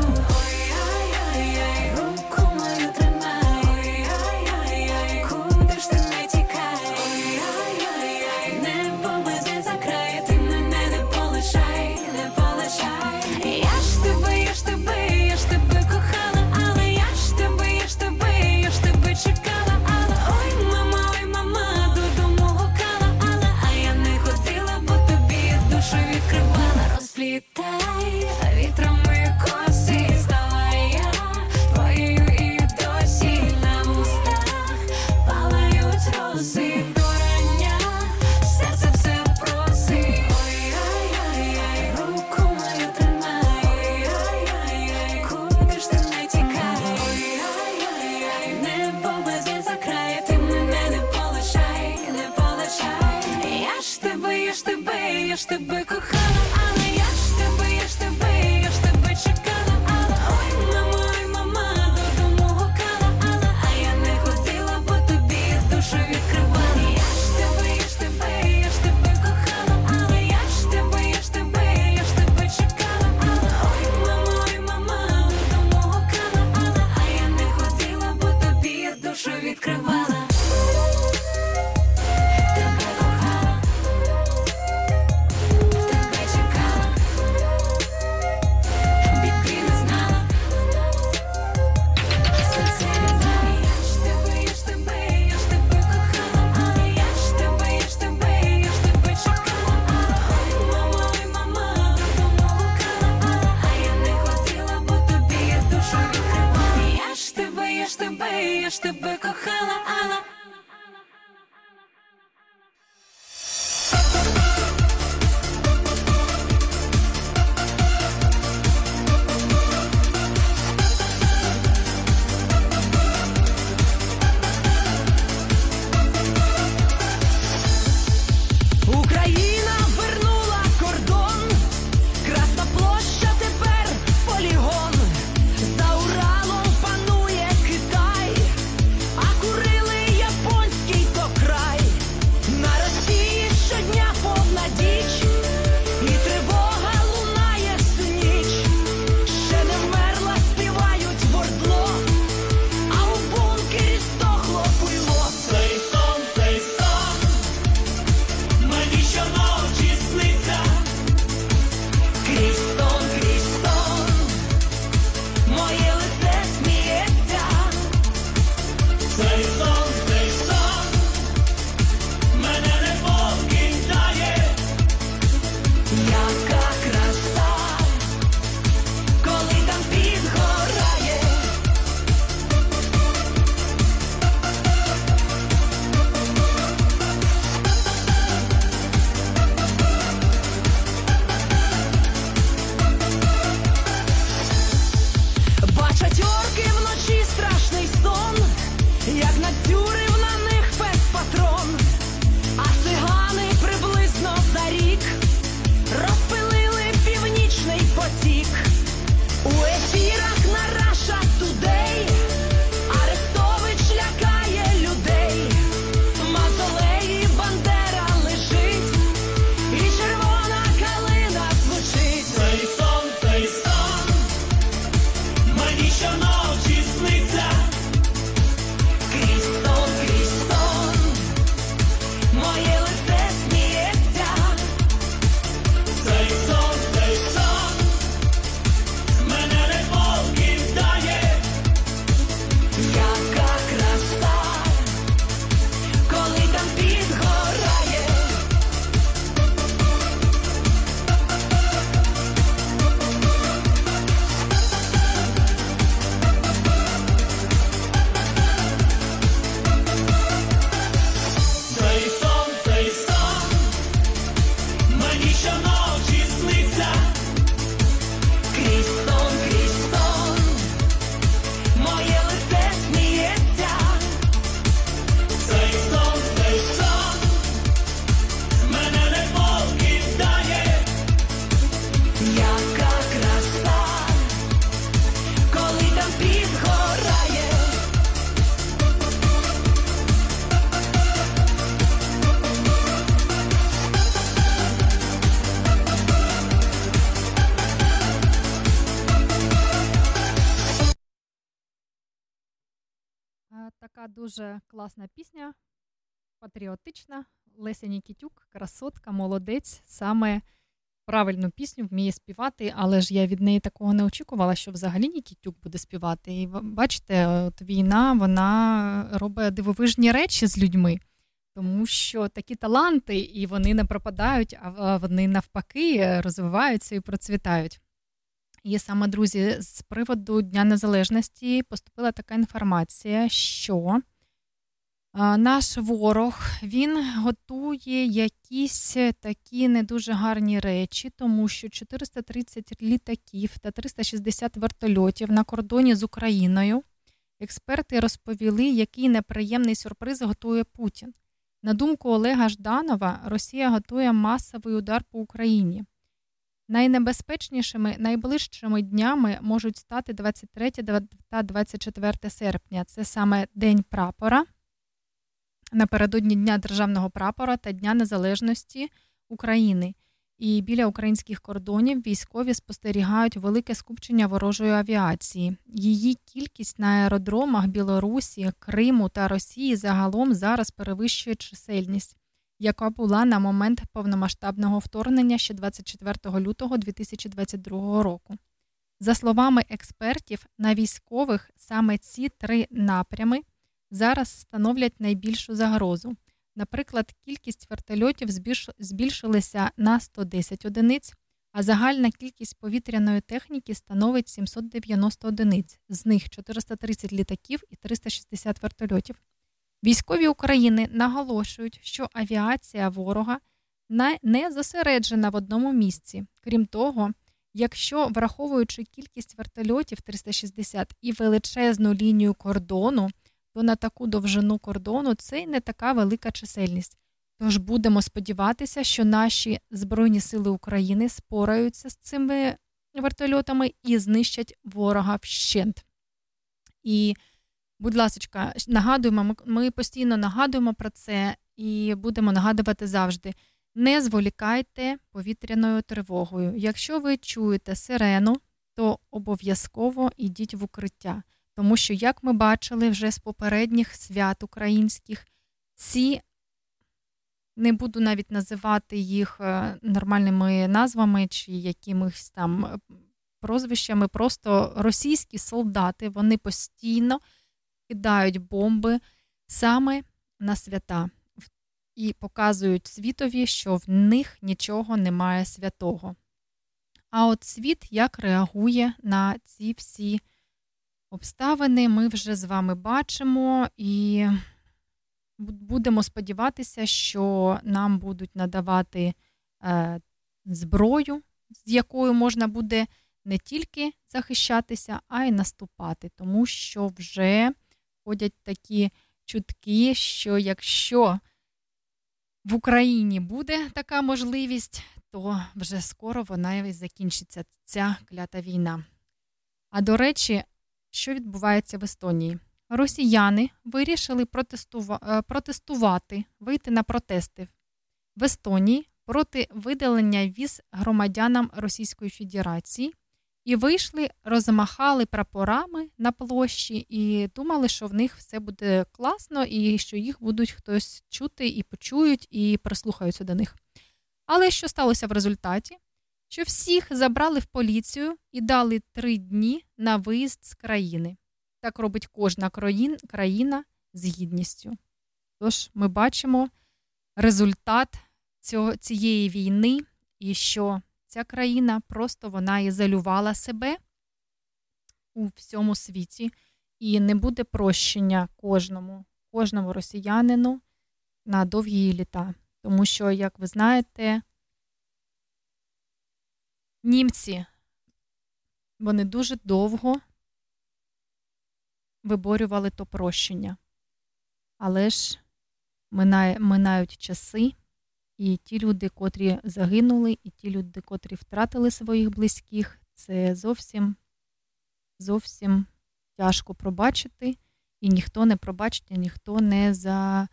Ой-ай-ай-ай, руку мою тримай, ой-ай-ай-ай, куди ж ти не тікай, ой-ай-ай-ай, небо мене закрає, ти мене не полишай, не полишай. Я ж тебе, я ж тебе, я ж тебе кохала, але я ж тебе, я ж тебе, я ж тебе чекала, але ой, мама, ой, мама, додому гукала, але а я не ходила, бо тобі душу відкривала. Розплітай вітрами коси, стала я твоєю і досі на вустах палають рози до рання, серце все просить. Ой-ай-ай-ай, руку мою тримай, ой-ай-ай-ай, куди ж ти не тікай, ой-ай-ай-ай, небо мене закрає, ти мене не полишай, не полишай. Я ж тебе, я ж тебе, я ж тебе кохала, але я ж тебе, я ж тебе, я ж тебе чекала, але ой, мама, ой, мама, додому гукала, але а я не ходила, бо тобі душу відкривала. Я ж тебе, я ж тебе, я ж тебе кохала, але я ж тебе, я ж тебе, я ж тебе чекала, але ой, мама, ой, мама, додому гукала, але а я не ходила, бо тобі душу відкривала. Тебе тебе кохала, Алла. Україна вернула кордон, Красна площа тепер полігон. За Уралом панує Китай, а Курили японський то край. На Росії щодня повна діч, і тривога лунає всю ніч. Ще не вмерла, співають в ордло, а у бункері здохло пуйло. Цей сон, цей сон мені щоночі сниться. Крізь сон, крізь сон моє лице сміється. Цей сон, цей сон мене не покидає. Яка краса, коли там підгорає. Бачать орки вночі страшний сон, як надзюрив на них спецпатрон. А цигани приблизно за рік розпилили північний потік. У ефірах на Russia Today Арестович лякає людей. В мавзолеї Бандера лежить, і червона калина звучить. Цей сон, цей сон мені щоночі сниться. Крізь сон, крізь сон моє лице сміється. Цей сон, цей сон мене не покидає. Яка краса, коли там підгорає. Цей сон, цей сон мені щоночі сниться. Крізь сон, крізь сон моє лице сміється. Цей сон, цей сон мене не покидає. Яка краса, коли там підгорає. Е, Така дуже класна пісня, патріотична. Леся Нікітюк, красотка, молодець, саме правильну пісню вміє співати, але ж я від неї такого не очікувала, що взагалі Нікітюк буде співати. І бачите, от війна, вона робить дивовижні речі з людьми, тому що такі таланти, і вони не пропадають, а вони навпаки розвиваються і процвітають. І саме, друзі, з приводу Дня Незалежності поступила така інформація, що а, наш ворог, він готує якісь такі не дуже гарні речі, тому що чотириста тридцять літаків та триста шістдесят вертольотів на кордоні з Україною. Експерти розповіли, який неприємний сюрприз готує Путін. На думку Олега Жданова, Росія готує масовий удар по Україні. Найнебезпечнішими, найближчими днями можуть стати двадцять третє та двадцять четверте серпня. Це саме День прапора, напередодні Дня Державного прапора та Дня Незалежності України. І біля українських кордонів військові спостерігають велике скупчення ворожої авіації. Її кількість на аеродромах Білорусі, Криму та Росії загалом зараз перевищує чисельність, яка була на момент повномасштабного вторгнення ще двадцять четвертого лютого дві тисячі двадцять другого року. За словами експертів, на військових саме ці три напрями зараз становлять найбільшу загрозу. Наприклад, кількість вертольотів збільшилася на сто десять одиниць, а загальна кількість повітряної техніки становить сімсот дев'яносто одиниць, з них чотириста тридцять літаків і триста шістдесят вертольотів. Військові України наголошують, що авіація ворога не зосереджена в одному місці. Крім того, якщо, враховуючи кількість вертольотів триста шістдесят і величезну лінію кордону, то на таку довжину кордону це й не така велика чисельність. Тож будемо сподіватися, що наші Збройні сили України спораються з цими вертольотами і знищать ворога вщент. І, будь ласочка, нагадуємо, ми постійно нагадуємо про це і будемо нагадувати завжди. Не зволікайте повітряною тривогою. Якщо ви чуєте сирену, то обов'язково йдіть в укриття. Тому що, як ми бачили вже з попередніх свят українських, ці, не буду навіть називати їх нормальними назвами чи якимись там прозвищами, просто російські солдати, вони постійно кидають бомби саме на свята. І показують світові, що в них нічого немає святого. А от світ як реагує на ці всі обставини, ми вже з вами бачимо і будемо сподіватися, що нам будуть надавати е, зброю, з якою можна буде не тільки захищатися, а й наступати. Тому що вже ходять такі чутки, що якщо в Україні буде така можливість, то вже скоро вона і закінчиться, ця клята війна. А до речі, що відбувається в Естонії? Росіяни вирішили протестува... протестувати, вийти на протести в Естонії проти видалення віз громадянам Російської Федерації і вийшли, розмахали прапорами на площі і думали, що в них все буде класно і що їх будуть хтось чути і почують і прислухаються до них. Але що сталося в результаті? Що всіх забрали в поліцію і дали три дні на виїзд з країни. Так робить кожна країна з гідністю. Тож ми бачимо результат цього, цієї війни і що ця країна просто вона ізолювала себе у всьому світі і не буде прощення кожному, кожному росіянину на довгі літа. Тому що, як ви знаєте, німці, вони дуже довго виборювали то прощення. Але ж минає, минають часи, і ті люди, котрі загинули, і ті люди, котрі втратили своїх близьких, це зовсім, зовсім тяжко пробачити, і ніхто не пробачить, і ніхто не за...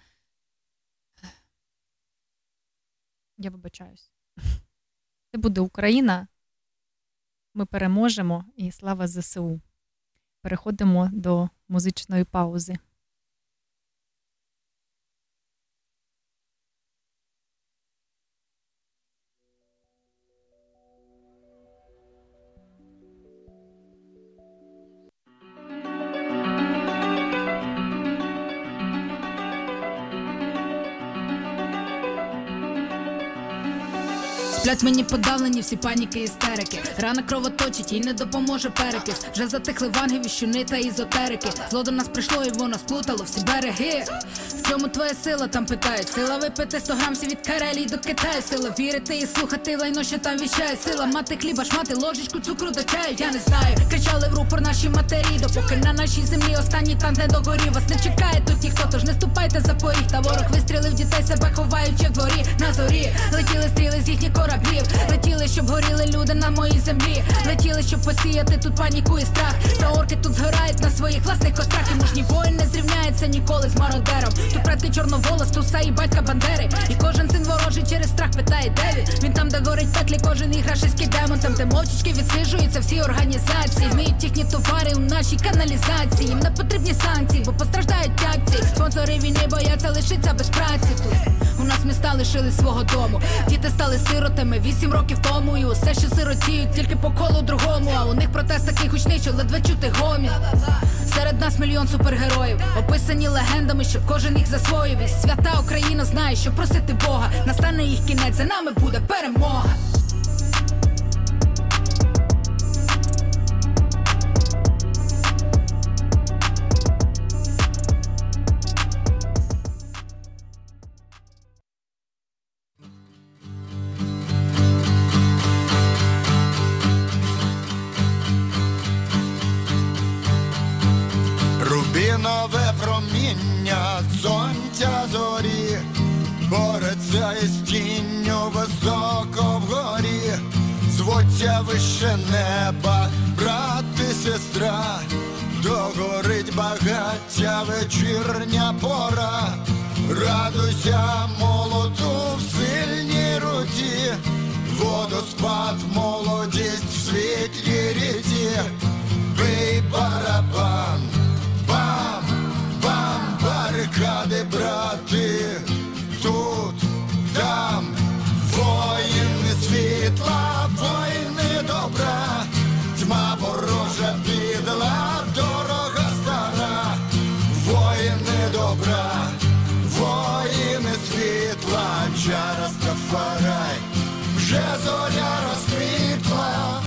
Я вибачаюсь. Це буде Україна, ми переможемо, і слава зе се у. Переходимо до музичної паузи. Сплять мені подавлені всі паніки і істерики. Рана кровоточить, їй не допоможе перекис. Вже затихли ванги, віщуни та ізотерики. Зло до нас прийшло і воно сплутало всі береги. В чому твоя сила, там питають. Сила випити сто грам всі від Карелії до Китаю. Сила вірити і слухати лайно, що там віщає. Сила мати хліба, шмати, ложечку цукру до чаю. Я не знаю, кричали в рупор наші матері. Допоки на нашій землі останній танк не догорів. Вас не чекає тут ніхто, тож не ступайте за поріг. Та ворог вистрілив дітей, себе ховаючи в дворі. На зорі летіли стріли з їхніх кораблів. Летіли, щоб горіли люди на моїй землі. Летіли, щоб посіяти тут паніку і страх. Та орки тут згорають на своїх власних кострах. І мужній воїн не зрівняється ніколи з мародером. Тут предки чорноволос, туса і батька Бандери. І кожен син ворожий через страх питає, де він? Він там, де горить пеклі, кожен їх рашистський демон. Там, де мовчечки відсиджуються всі організації. Вміють їхні товари у нашій каналізації. Їм не потрібні санкції, бо постраждають акції. Спонсори війни бояться лишитися без праці тут. У нас міста лишили свого дому. Діти стали сиротами вісім років тому. І усе, що сиротіють, тільки по колу другому. А у них протест такий гучний, що ледве чути гомін. Серед нас мільйон супергероїв, описані легендами, щоб кожен їх засвоїв. І свята Україна знає, що просити Бога. Настане їх кінець, за нами буде перемога. сонця зорі, бореться із тінню високо вгорі, звуться вище неба, брат і сестра, догорить багаття вечірня пора. Радуйся молоду в сильній руці, водоспад, молодість в світлій ріці. Бий барабан, бам, бам, барикади, брати, тут, там, воїни світла, воїни добра, тьма ворожа підла, дорога стара, воїни добра, воїни світла, Джа Растафарай, вже зоря розквітла.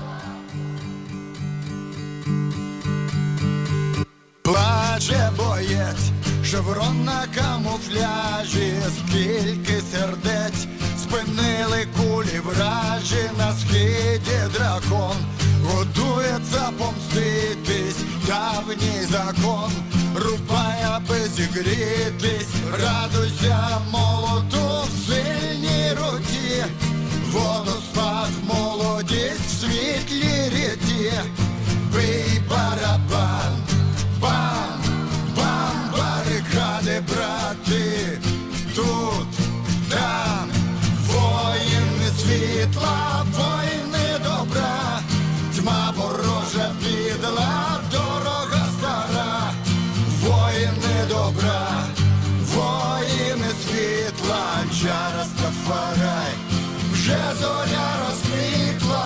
Плаче боєць, шеврон на камуфляжі, скільки сердець спинили кулі вражі, на схиді дракон готується помститись, давній закон рубає, аби зігрітись. Радуйся молоду в сильній руці, водоспад, молодість в світлій ріці. Бий барабан, бам, бам, барикади, брати, тут, там, воїни світла, воїни добра, тьма ворожа підла, дорога стара, воїни добра, воїни світла, Джа Растафарай, вже зоря розквітла.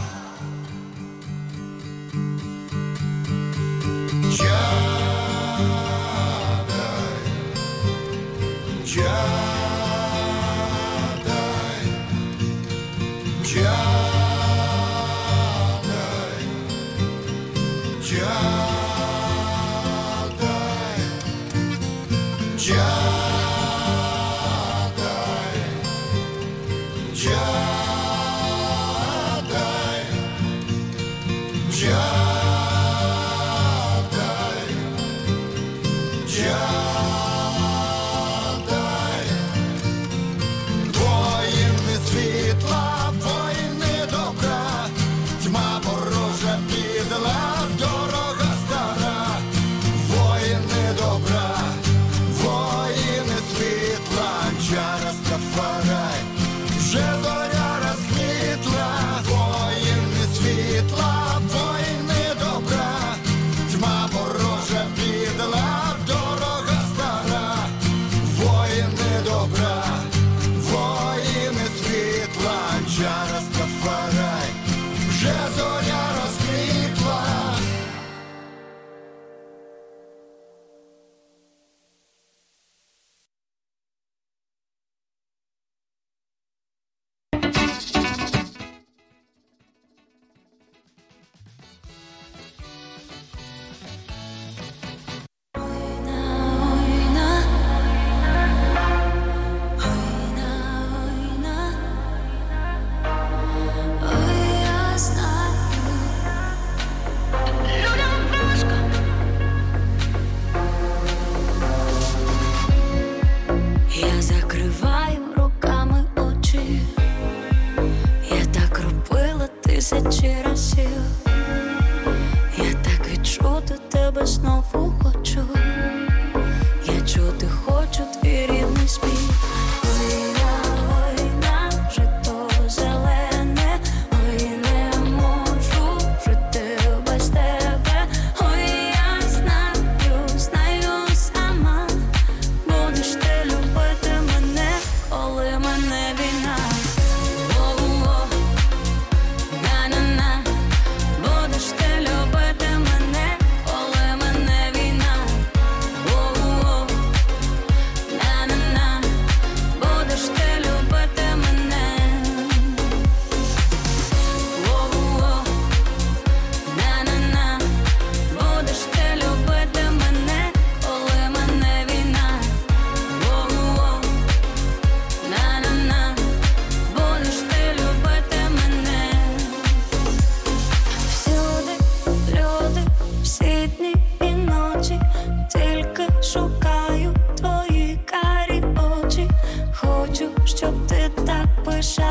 Джадай, Джадай, Джадай, Джадай, Джадай, Джадай, Джадай. Тисячі разів я так відчути тебе знову хочу. Я чути хочу твій рідний спів. Ой, на, ой, на, жито зелене. Ой, не можу жити без тебе. Ой, я знаю, знаю сама. Будеш ти любити мене, коли мене війна.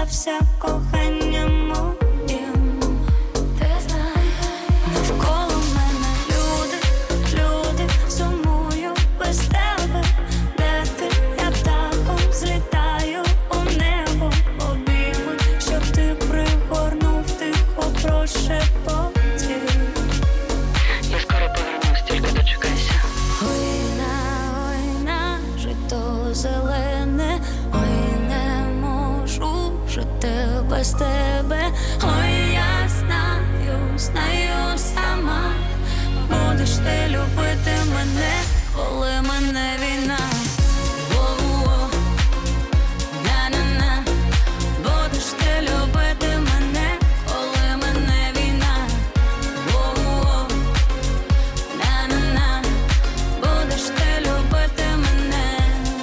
здався коханням моїм. Ти знаєш, навколо мене люди, люди, сумую без тебе. Де ти, я птахом злітаю у небо, обійми, щоб ти пригорнув тихо прошепотів. Я скоро повернусь, тільки дочекайся. Ой, на, ой, на, жито зелене, ой, не можу жити без тебе. Ой, я знаю, знаю сама, будеш ти любити мене, коли мене війна. Воу-воу, на-на-на, будеш ти любити мене, коли мене війна. Воу-воу, на-на-на, будеш ти любити мене.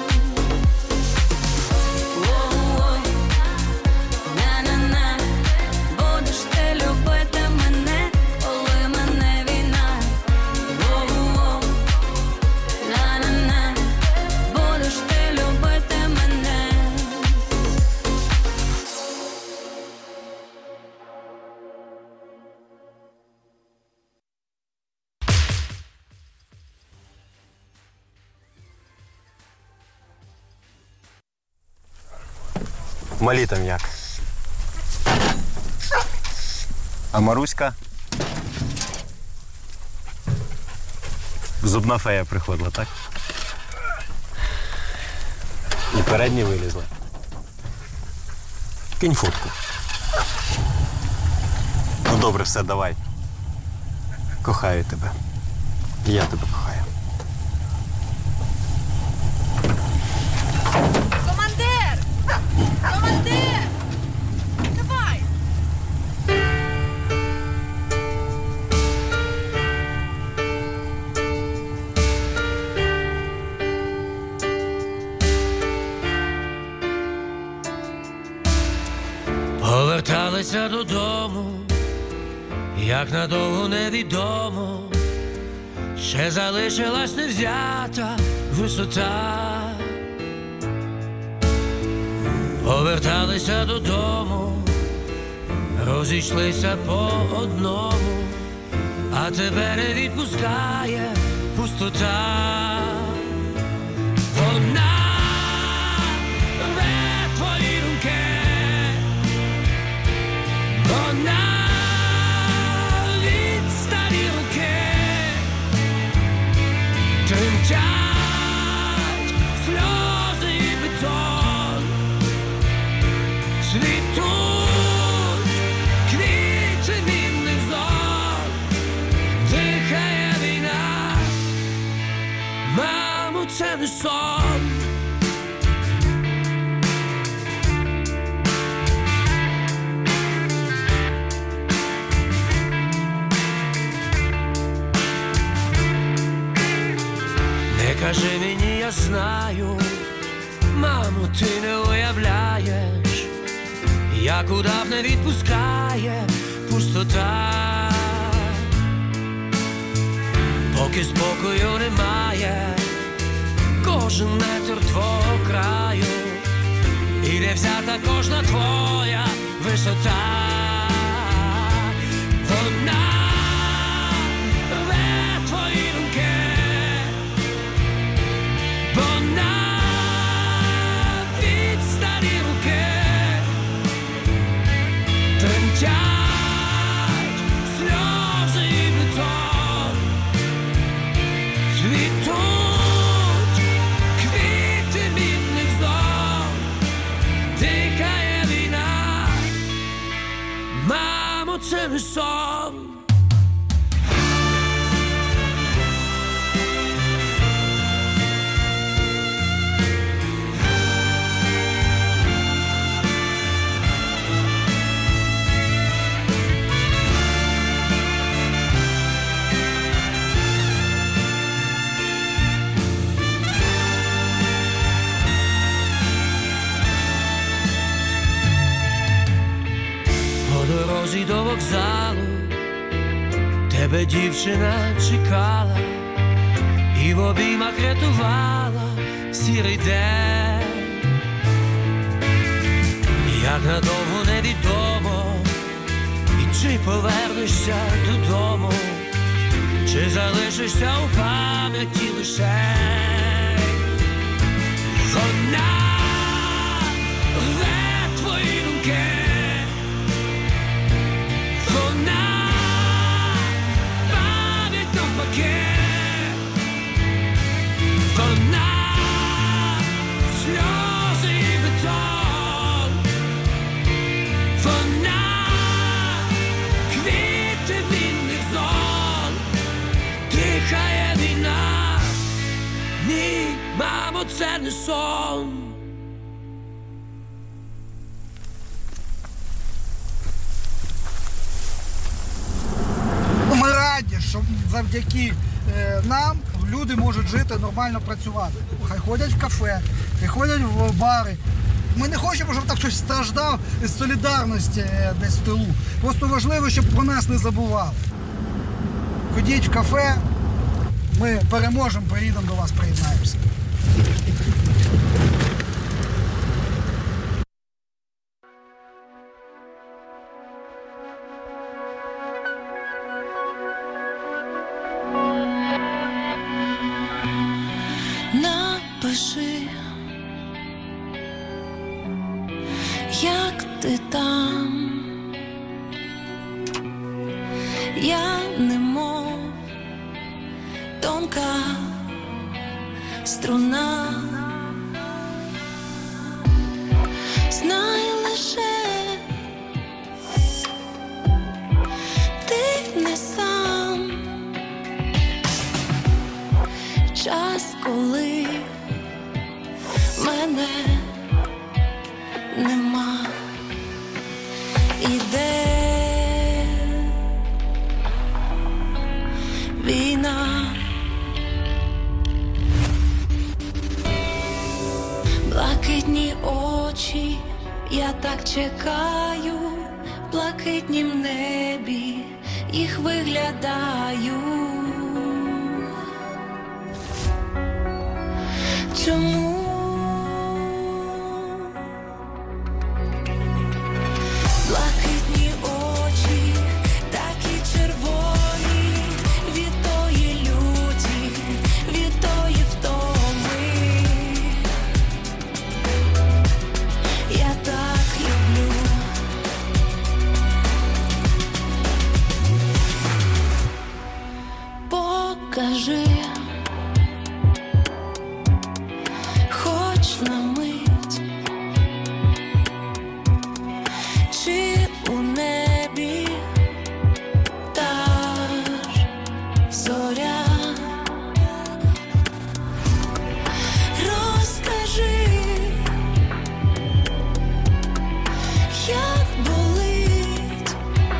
Воу-воу, на-на-на, будеш ти любити мене, коли мене війна. Воу-воу, на-на-на, будеш ти любити мене. Малі там як? А Маруська? Зубна фея приходила, так? І передні вилізли. Кинь фотку. Ну добре, все, давай. Кохаю тебе. І я тебе кохаю. Командир! Командир! Давай! Поверталися додому, як надовго невідомо, ще залишилась невзята висота. Поверталися додому, розійшлися по одному, а тебе не відпускає пустота. Вона рве твої думки, вона відсталі руки, тремтять сльози і бетон, цвітуть квіти мінних зон, дихає війна, мамо, це не сон. Не кажи мені, я знаю, мамо, ти не уявляєш, як удав не відпускає пустота. Поки спокою немає, кожен метр твого краю, і не взята кожна твоя висота. Вона рве твої думки, вона відсталі руки, тремтять сльози і бетон, цвітуть квіти мінних зон, дихає війна, мамо, це не сон. По дорозі до вокзалу тебе дівчина чекала і в обіймах рятувала сірий день. як надовго невідомо, і чи повернешся додому, чи залишишся у пам'яті лише вона рве твої думки, вона пам'ять навпаки, вона сльози і бетон, вона квіти вільних зон, дихає війна, ні, мамо, це не сон. Ми раді, що завдяки е, нам люди можуть жити, нормально працювати. Хай ходять в кафе, хай ходять в бари. Ми не хочемо, щоб так хтось страждав із солідарності е, десь в тилу. Просто важливо, щоб про нас не забували. Ходіть в кафе, ми переможемо, приїдемо до вас, приєднаємося. Напиши, як ти там, я немов тонка струна, знай лише ти не сам, час, коли мене нема, іде війна, блакитні очі, я так чекаю, в блакитнім небі їх виглядаю. Чому? Блакитні очі, такі червоні, від тої люті, від тої втоми. Я так люблю. Покажи хоч на мить, чи у небі та ж зоря. Розкажи, як болить,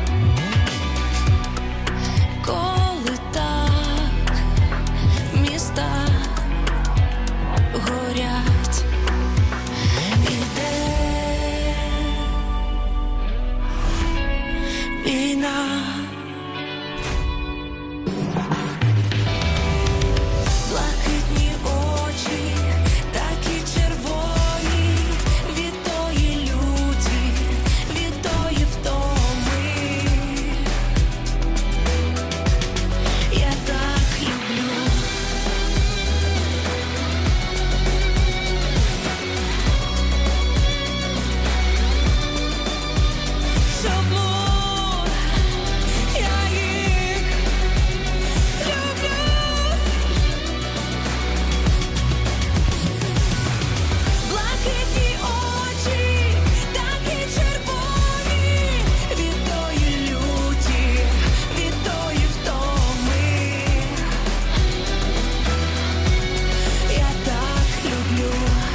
коли так міста горять. Іде війна, блакитні очі, такі червоні, від тої люті, від тої втоми. Я так люблю. Чому я їх люблю? Блакитні очі, такі червоні, від тої люті, від тої втоми. Я так люблю.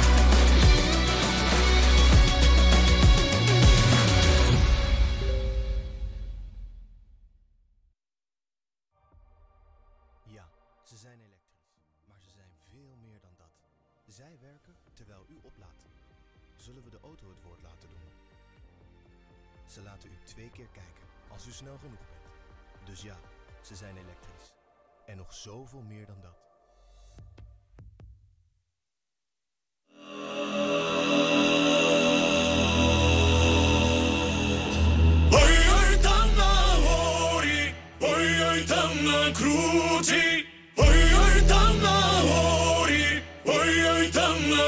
Ja, ze zijn elektrisch, maar ze zijn veel meer dan dat. Zij werken terwijl u oplaadt. Zullen we de auto het woord laten doen? Ze laten u twee keer kijken, als u snel genoeg bent. Dus ja, ze zijn elektrisch. En nog zoveel meer dan dat.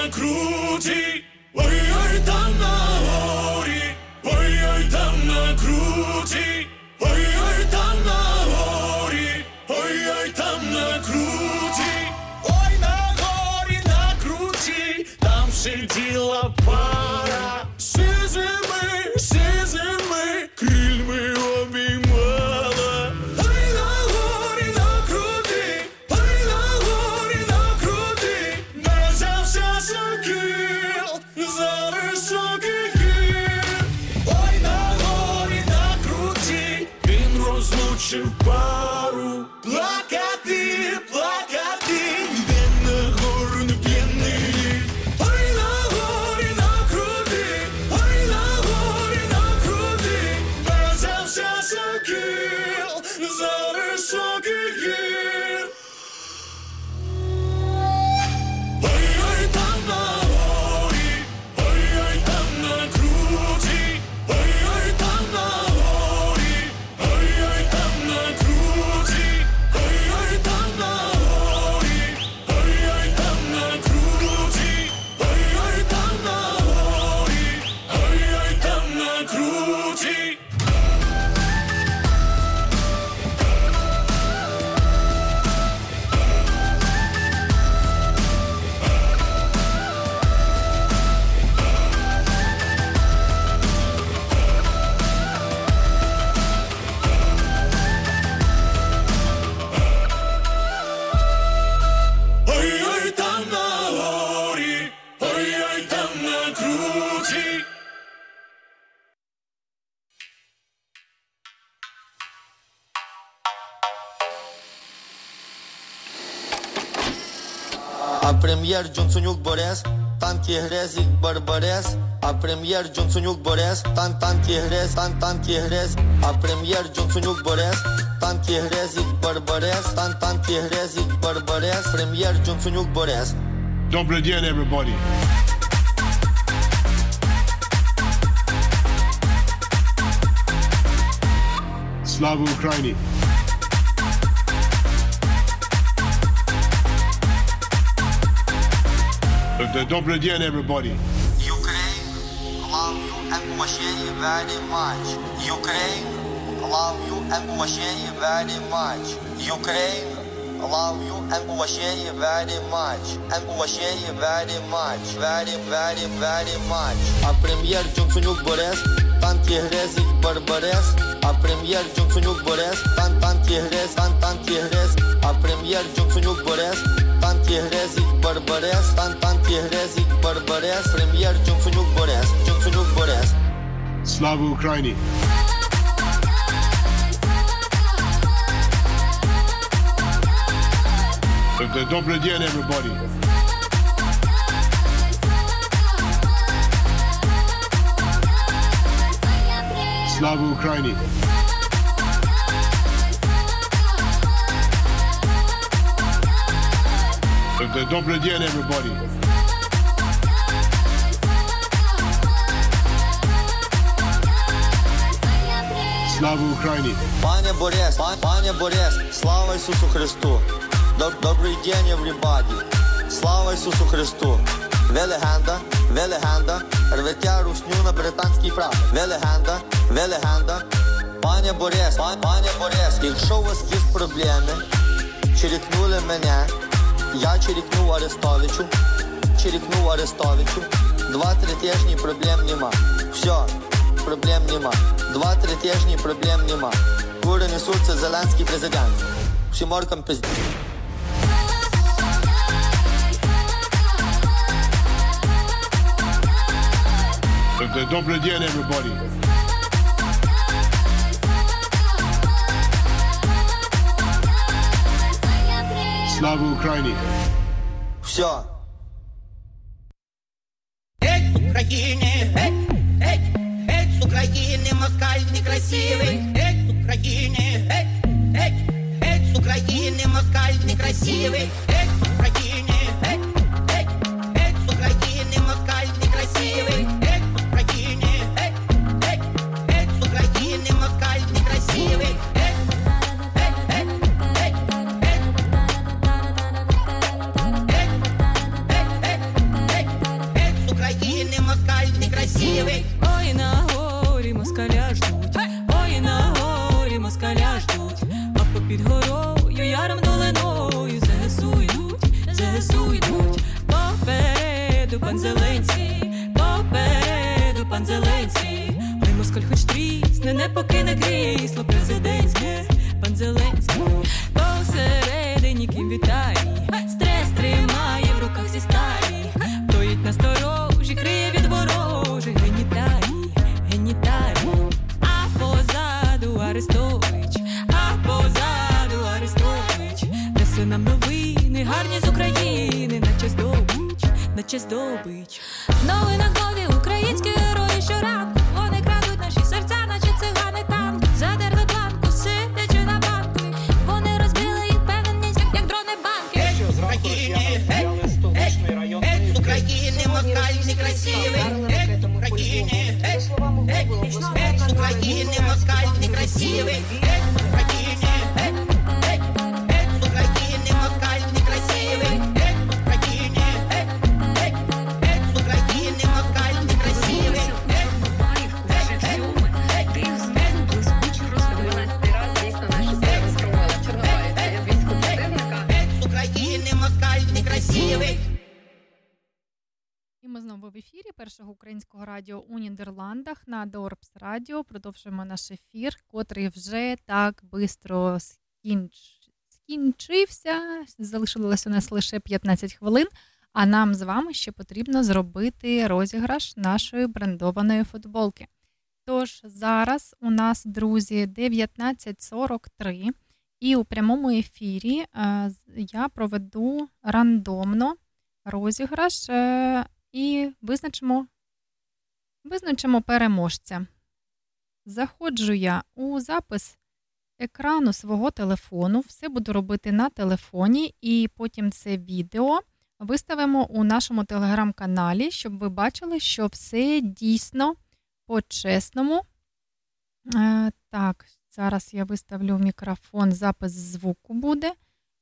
на круті, ой-ой, там на горі, ой-ой, там на круті, ой-ой, там на горі, ой-ой, там на круті, ой, на горі, на круті, там сиділа пара, сизими, сизими, крильми обіймала. Ой, на горі, на круті, ой, на горі, на круті, не взявся сокіл за високих гір. Ой, на горі, на круті, він розлучив пару. Плакати, плакати, він на гору не п'яний. Ой, на горі, на круті, ой, на горі, на круті, не взявся сокіл за високих гір. Ой-ой, там на горі, ой-ой, там на круті, ой-ой, там на горі, ой-ой, там на круті, ой-ой, там на горі, ой-ой, там на круті, ой-ой, там на горі, ой-ой, там на круті. Ой-ой, там на горі, ой-ой, там на круті. А прем'єр Джонсонюк Борис, танки грезік Барбарес. А прем'єр Джонсонюк Борис, тан танки грез, тан танки грез. А прем'єр Джонсонюк Борис, танки грезік Барбарес, тан танки грезік Барбарес. Прем'єр Джонсонюк Борис. Добрый день, everybody. Слава Україні. Добрый день, everybody. Ukraine, love you and Masheni very much. Ukraine, love you and Masheni very much. Ukraine, love you and Masheni very much. And Masheni very much. Very, very, very much. А прем'єр Джонсонюк Борис, танки грезік Барбарес. А прем'єр Джонсонюк Борис, тан танки грез, тан танки грез. А прем'єр Джонсонюк Борис, танки грезік Барбарес, тан танки грезік Барбарес. Прем'єр Джонсонюк Борис, Джонсонюк Борис. Слава Україні. Добрый день, everybody. Слава Україні. Добрый день, everybody. Слава Україні. Пане Борис, пан, пане Борис, слава Ісусу Христу. Доб- Добрий день, everybody. Слава Ісусу Христу. Ви легенда, ви легенда. Рветя русню на британський прапор. Ви легенда, ви легенда. Пане Борис, пан, пане Борис, якщо у вас є проблеми, черікнули мене, я черікнув Арестовичу, черікнув Арестовичу. Два-три тижні проблем нема. Все, проблем нема. Два-три тижні проблем нема. Кури несуться Зеленський президент. Всі моркам пизді. Добрый день, everybody. Слава Україні. Все. Эй, с Украины, эй, эй, эй, с Украины, москаль некрасивый. Эй, с Украины, эй, эй, эй, с Украины, москаль некрасивый. Эй, с Украины, эй, эй, эй, с Украины, москаль некрасивый. Эй, с Украины, эй, эй, эй, с Украины, москаль некрасивый. Эй, эй, эй, эй, эй. Попереду пан Зеленський, попереду пан Зеленський. Ой, москаль хоч трісне, не покине крісло президентське. Пан Зеленський посередині ким вітає, стрес тримає в руках зі сталі. Стоїть насторожі, криє від ворожих геніталій, геніталій. А позаду Арестович, а позаду Арестович. Несе нам новини, гарні з України, наче здобич, наче здобич. В новинах нові українські герої щоранку. Вони крадуть наші серця, наче цигани танки. Задерли планку, сидячи на банку. Вони розбили їх певненість, як, як дрони банки. Геть з України, геть, геть з України, москаль некрасивий. Геть з України, геть, геть, геть з України, москаль некрасивий. Геть з України, геть, геть, геть з України, москаль некрасивий. Геть з України, геть, геть, геть з України, москаль некрасивий. І ми знову в ефірі Першого українського радіо у Нідерландах на Дорпс Радіо. Продовжуємо наш ефір, котрий вже так швидко скінч... скінчився. Залишилося у нас лише п'ятнадцять хвилин, а нам з вами ще потрібно зробити розіграш нашої брендованої футболки. Тож зараз у нас, друзі, дев'ятнадцять сорок три, і у прямому ефірі е, я проведу рандомно розіграш е, і визначимо, визначимо переможця. Заходжу я у запис екрану свого телефону, все буду робити на телефоні, і потім це відео виставимо у нашому телеграм-каналі, щоб ви бачили, що все дійсно по-чесному. Е, так, зараз я виставлю мікрофон, запис звуку буде.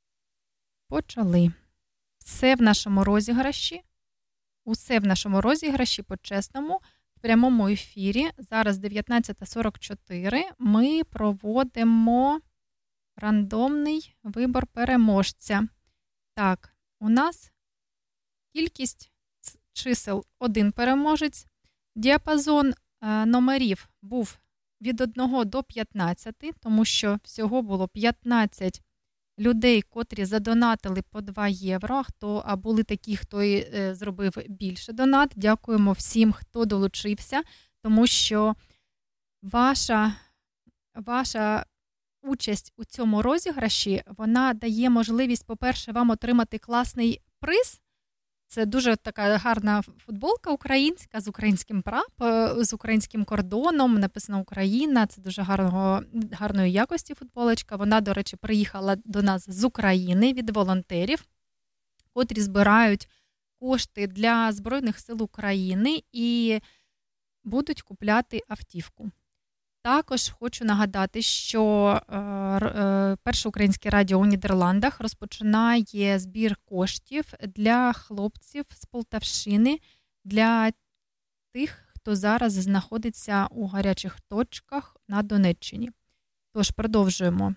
Почали. Все в нашому розіграші. Усе в нашому розіграші по-чесному. В прямому ефірі. Зараз дев'ятнадцята сорок чотири. Ми проводимо рандомний вибор переможця. Так, у нас кількість чисел один переможець. Діапазон е, номерів був від одного до п'ятнадцяти, тому що всього було п'ятнадцять людей, котрі задонатили по два євро, а, хто, а були такі, хто і е, зробив більше донат. Дякуємо всім, хто долучився, тому що ваша, ваша участь у цьому розіграші, вона дає можливість, по-перше, вам отримати класний приз. Це дуже така гарна футболка українська з українським прапором, з українським кордоном, написано Україна. Це дуже гарного, гарної якості футболочка. Вона, до речі, приїхала до нас з України від волонтерів, котрі збирають кошти для Збройних сил України і будуть купляти автівку. Також хочу нагадати, що е, е, Перше українське радіо у Нідерландах розпочинає збір коштів для хлопців з Полтавщини, для тих, хто зараз знаходиться у гарячих точках на Донеччині. Тож, продовжуємо.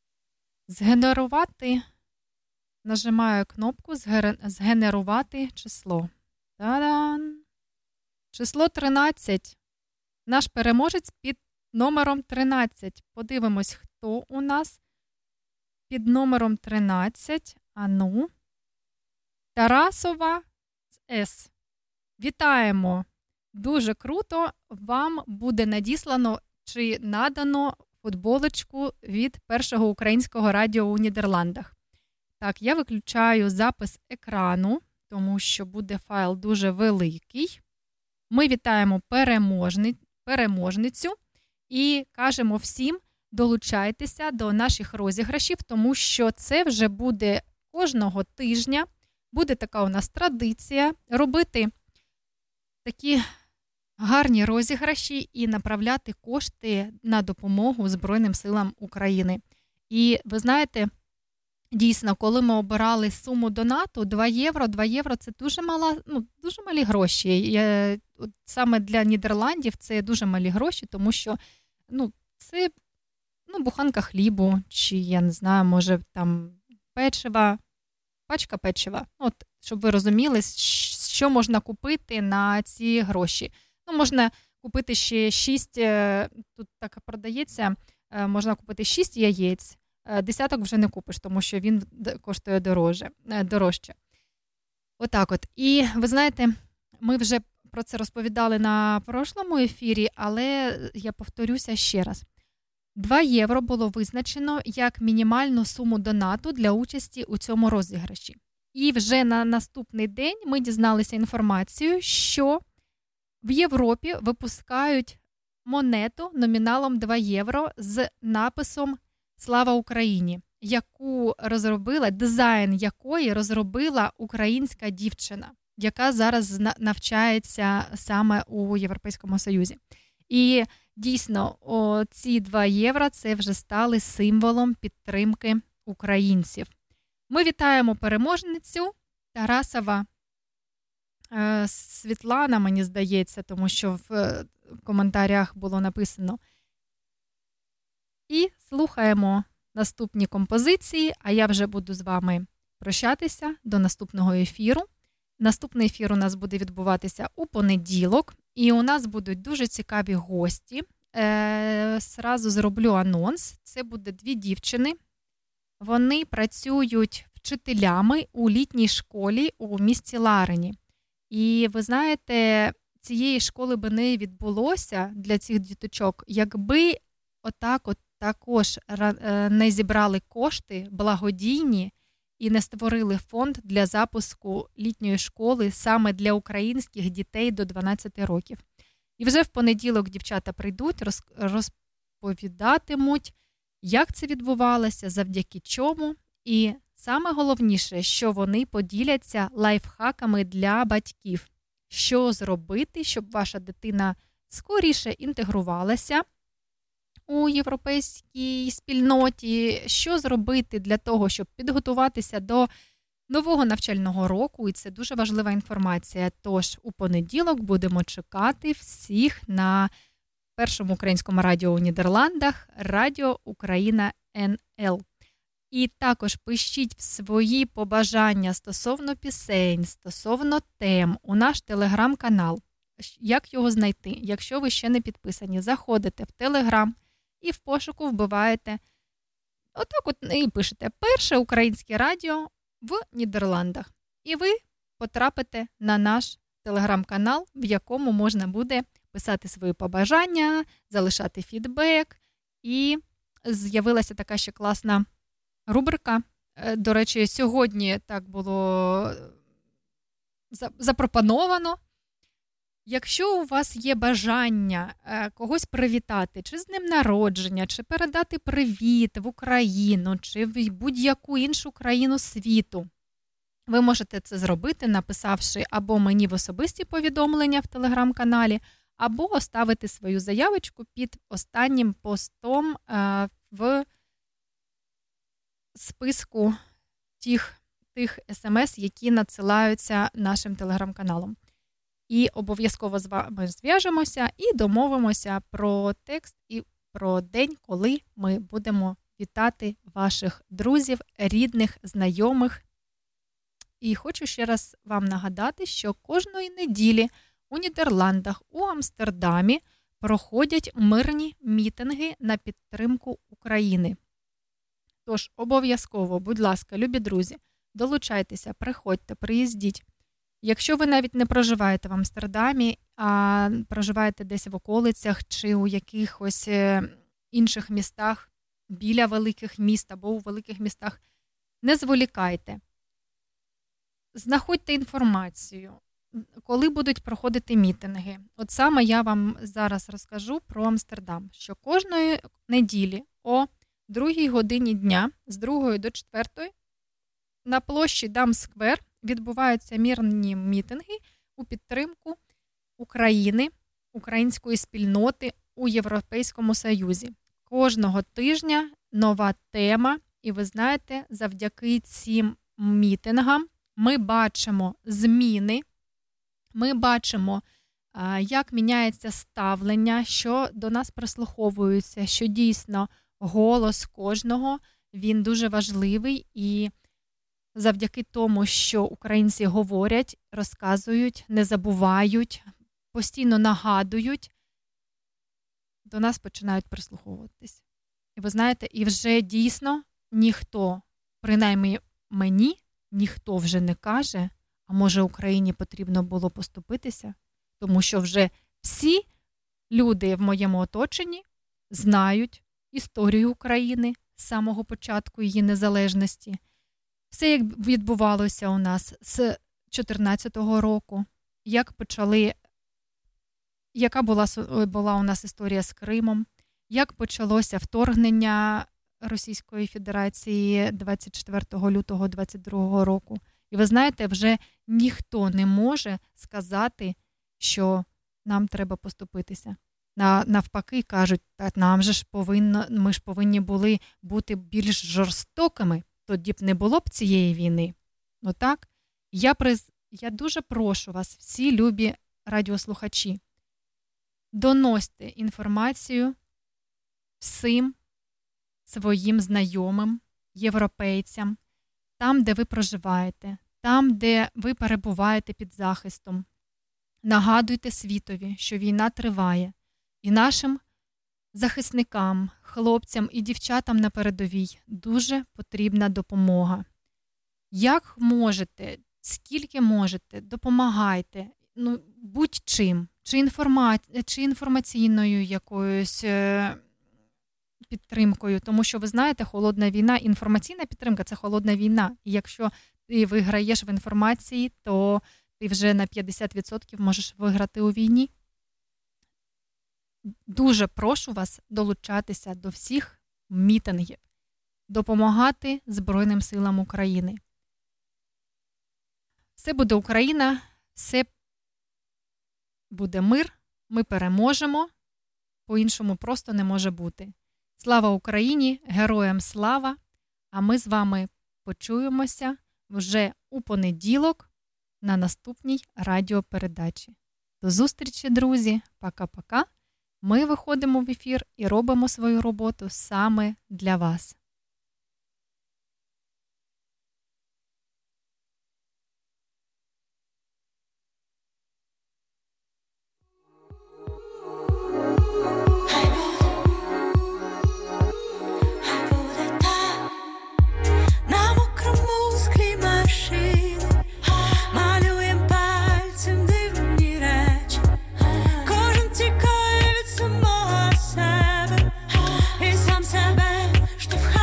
Згенерувати, нажимаю кнопку «Згенерувати число». Та-дан! Число тринадцять. Наш переможець під номером тринадцять. Подивимось, хто у нас під номером тринадцять. Ану. Тарасова з С. Вітаємо! Дуже круто. Вам буде надіслано чи надано футболочку від Першого українського радіо у Нідерландах. Так, я виключаю запис екрану, тому що буде файл дуже великий. Ми вітаємо переможни... переможницю. І кажемо всім, долучайтеся до наших розіграшів, тому що це вже буде кожного тижня, буде така у нас традиція робити такі гарні розіграші і направляти кошти на допомогу Збройним силам України. І ви знаєте, дійсно, коли ми обирали суму донату, два євро, два євро – це дуже мала, ну, дуже малі гроші. Я, от, саме для Нідерландів це дуже малі гроші, тому що ну, це ну, буханка хлібу, чи, я не знаю, може, там печива, пачка печива. От, щоб ви розуміли, з що можна купити на ці гроші. Ну, можна купити ще шість, тут так продається, можна купити шість яєць, десяток вже не купиш, тому що він коштує дороже, дорожче. Отак от. І ви знаєте, ми вже про це розповідали на прошлому ефірі, але я повторюся ще раз. два євро було визначено як мінімальну суму донату для участі у цьому розіграші. І вже на наступний день ми дізналися інформацію, що в Європі випускають монету номіналом два євро з написом «Слава Україні», яку розробила, дизайн якої розробила українська дівчина, яка зараз навчається саме у Європейському Союзі. І дійсно, о, ці два євро – це вже стали символом підтримки українців. Ми вітаємо переможницю Тарасова е, Світлана, мені здається, тому що в е, коментарях було написано. І слухаємо наступні композиції, а я вже буду з вами прощатися до наступного ефіру. Наступний ефір у нас буде відбуватися у понеділок, і у нас будуть дуже цікаві гості. Е, сразу зроблю анонс. Це буде дві дівчини. Вони працюють вчителями у літній школі у місті Ларені. І ви знаєте, цієї школи би не відбулося для цих діточок, якби отак от також не зібрали кошти благодійні і не створили фонд для запуску літньої школи саме для українських дітей до дванадцяти років. І вже в понеділок дівчата прийдуть, розповідатимуть, як це відбувалося, завдяки чому. І саме головніше, що вони поділяться лайфхаками для батьків. Що зробити, щоб ваша дитина скоріше інтегрувалася у європейській спільноті, що зробити для того, щоб підготуватися до нового навчального року, і це дуже важлива інформація. Тож у понеділок будемо чекати всіх на першому українському радіо у Нідерландах, Радіо Україна ен ел. І також пишіть свої побажання стосовно пісень, стосовно тем у наш телеграм-канал. Як його знайти? Якщо ви ще не підписані, заходите в телеграм і в пошуку вбиваєте отак от і пишете «Перше українське радіо в Нідерландах». І ви потрапите на наш телеграм-канал, в якому можна буде писати свої побажання, залишати фідбек. І з'явилася така ще класна рубрика. До речі, сьогодні так було запропоновано. Якщо у вас є бажання когось привітати, чи з днем народження, чи передати привіт в Україну, чи в будь-яку іншу країну світу, ви можете це зробити, написавши або мені в особисті повідомлення в телеграм-каналі, або оставити свою заявочку під останнім постом в списку тих, тих смс, які надсилаються нашим телеграм-каналом. І обов'язково з вами зв'яжемося і домовимося про текст і про день, коли ми будемо вітати ваших друзів, рідних, знайомих. І хочу ще раз вам нагадати, що кожної неділі у Нідерландах, у Амстердамі проходять мирні мітинги на підтримку України. Тож обов'язково, будь ласка, любі друзі, долучайтеся, приходьте, приїздіть. Якщо ви навіть не проживаєте в Амстердамі, а проживаєте десь в околицях чи у якихось інших містах, біля великих міст або у великих містах, не зволікайте. Знаходьте інформацію, коли будуть проходити мітинги. От саме я вам зараз розкажу про Амстердам, що кожної неділі о другій годині дня з другої до четвертої на площі Дам-сквер відбуваються мирні мітинги у підтримку України, української спільноти у Європейському Союзі. Кожного тижня нова тема, і ви знаєте, завдяки цим мітингам ми бачимо зміни, ми бачимо, як міняється ставлення, що до нас прислуховуються, що дійсно голос кожного, він дуже важливий, і завдяки тому, що українці говорять, розказують, не забувають, постійно нагадують, до нас починають прислуховуватись. І ви знаєте, і вже дійсно ніхто, принаймні мені, ніхто вже не каже, а може Україні потрібно було поступитися, тому що вже всі люди в моєму оточенні знають історію України з самого початку її незалежності. Все, як відбувалося у нас з чотирнадцятого року, як почали, яка була, була у нас історія з Кримом, як почалося вторгнення Російської Федерації двадцять четвертого лютого двадцять другого року. І ви знаєте, вже ніхто не може сказати, що нам треба поступитися. Навпаки, кажуть, так, нам же ж повинно, ми ж повинні були бути більш жорстокими, тоді б не було б цієї війни. Ну так, я, приз... я дуже прошу вас, всі любі радіослухачі, доносьте інформацію всім своїм знайомим, європейцям, там, де ви проживаєте, там, де ви перебуваєте під захистом. Нагадуйте світові, що війна триває, і нашим захисникам, хлопцям і дівчатам на передовій дуже потрібна допомога. Як можете, скільки можете, допомагайте, ну, будь-чим, чи, інформа... чи інформаційною якоюсь е... підтримкою, тому що, ви знаєте, холодна війна, інформаційна підтримка – це холодна війна. І якщо ти виграєш в інформації, то ти вже на п'ятдесят відсотків можеш виграти у війні. Дуже прошу вас долучатися до всіх мітингів, допомагати Збройним силам України. Все буде Україна, все буде мир, ми переможемо, по-іншому просто не може бути. Слава Україні, героям слава, а ми з вами почуємося вже у понеділок на наступній радіопередачі. До зустрічі, друзі, пока-пока. Ми виходимо в ефір і робимо свою роботу саме для вас. Штовхає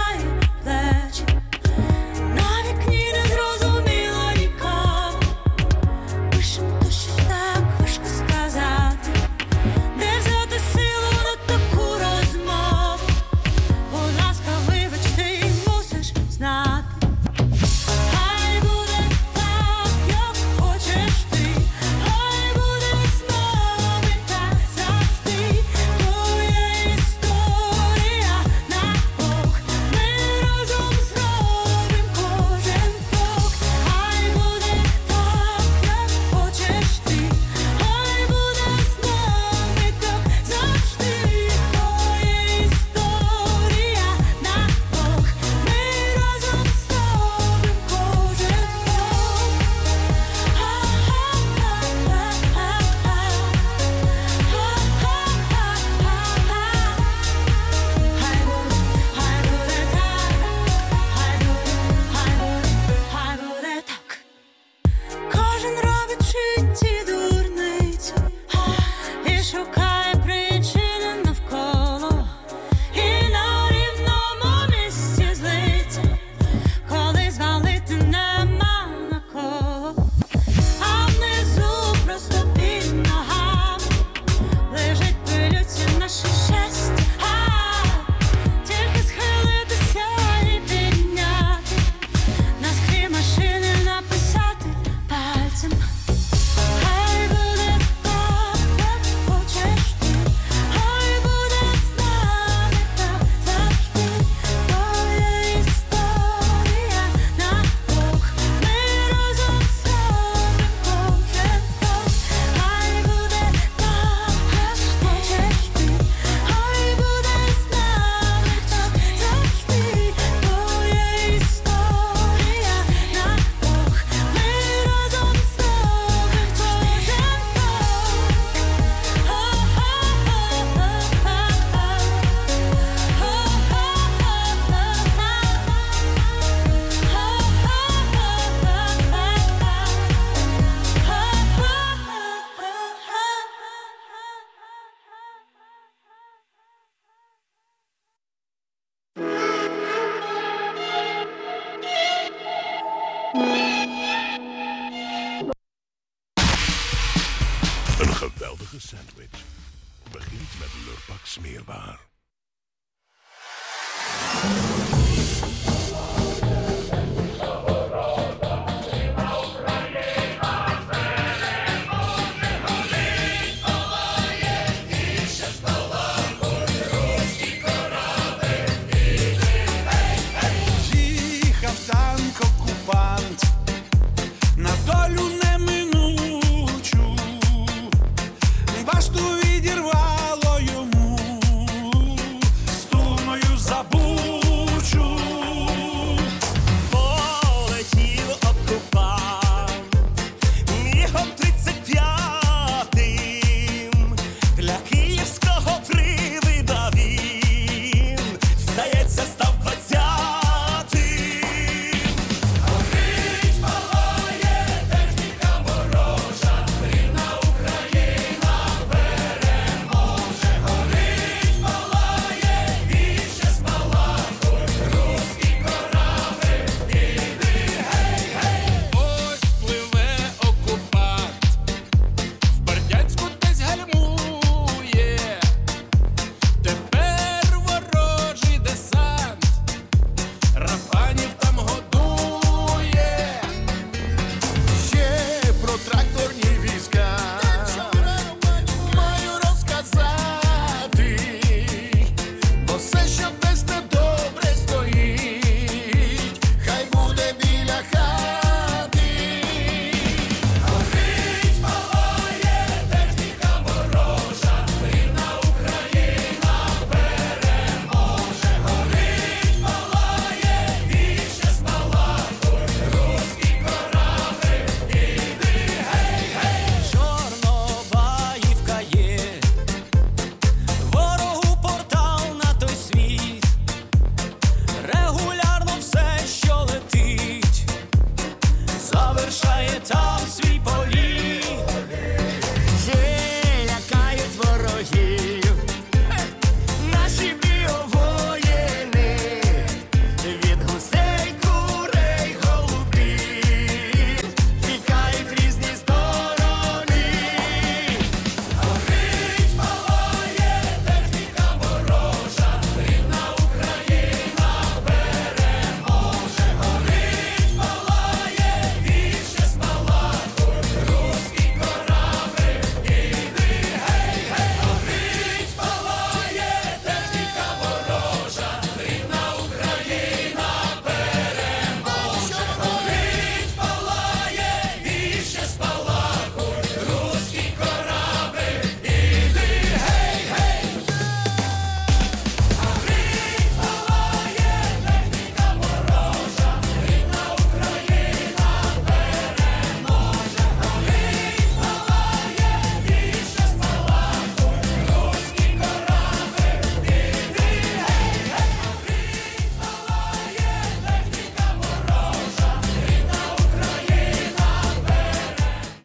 geweldige sandwich begint met Lurpak smeerbaar.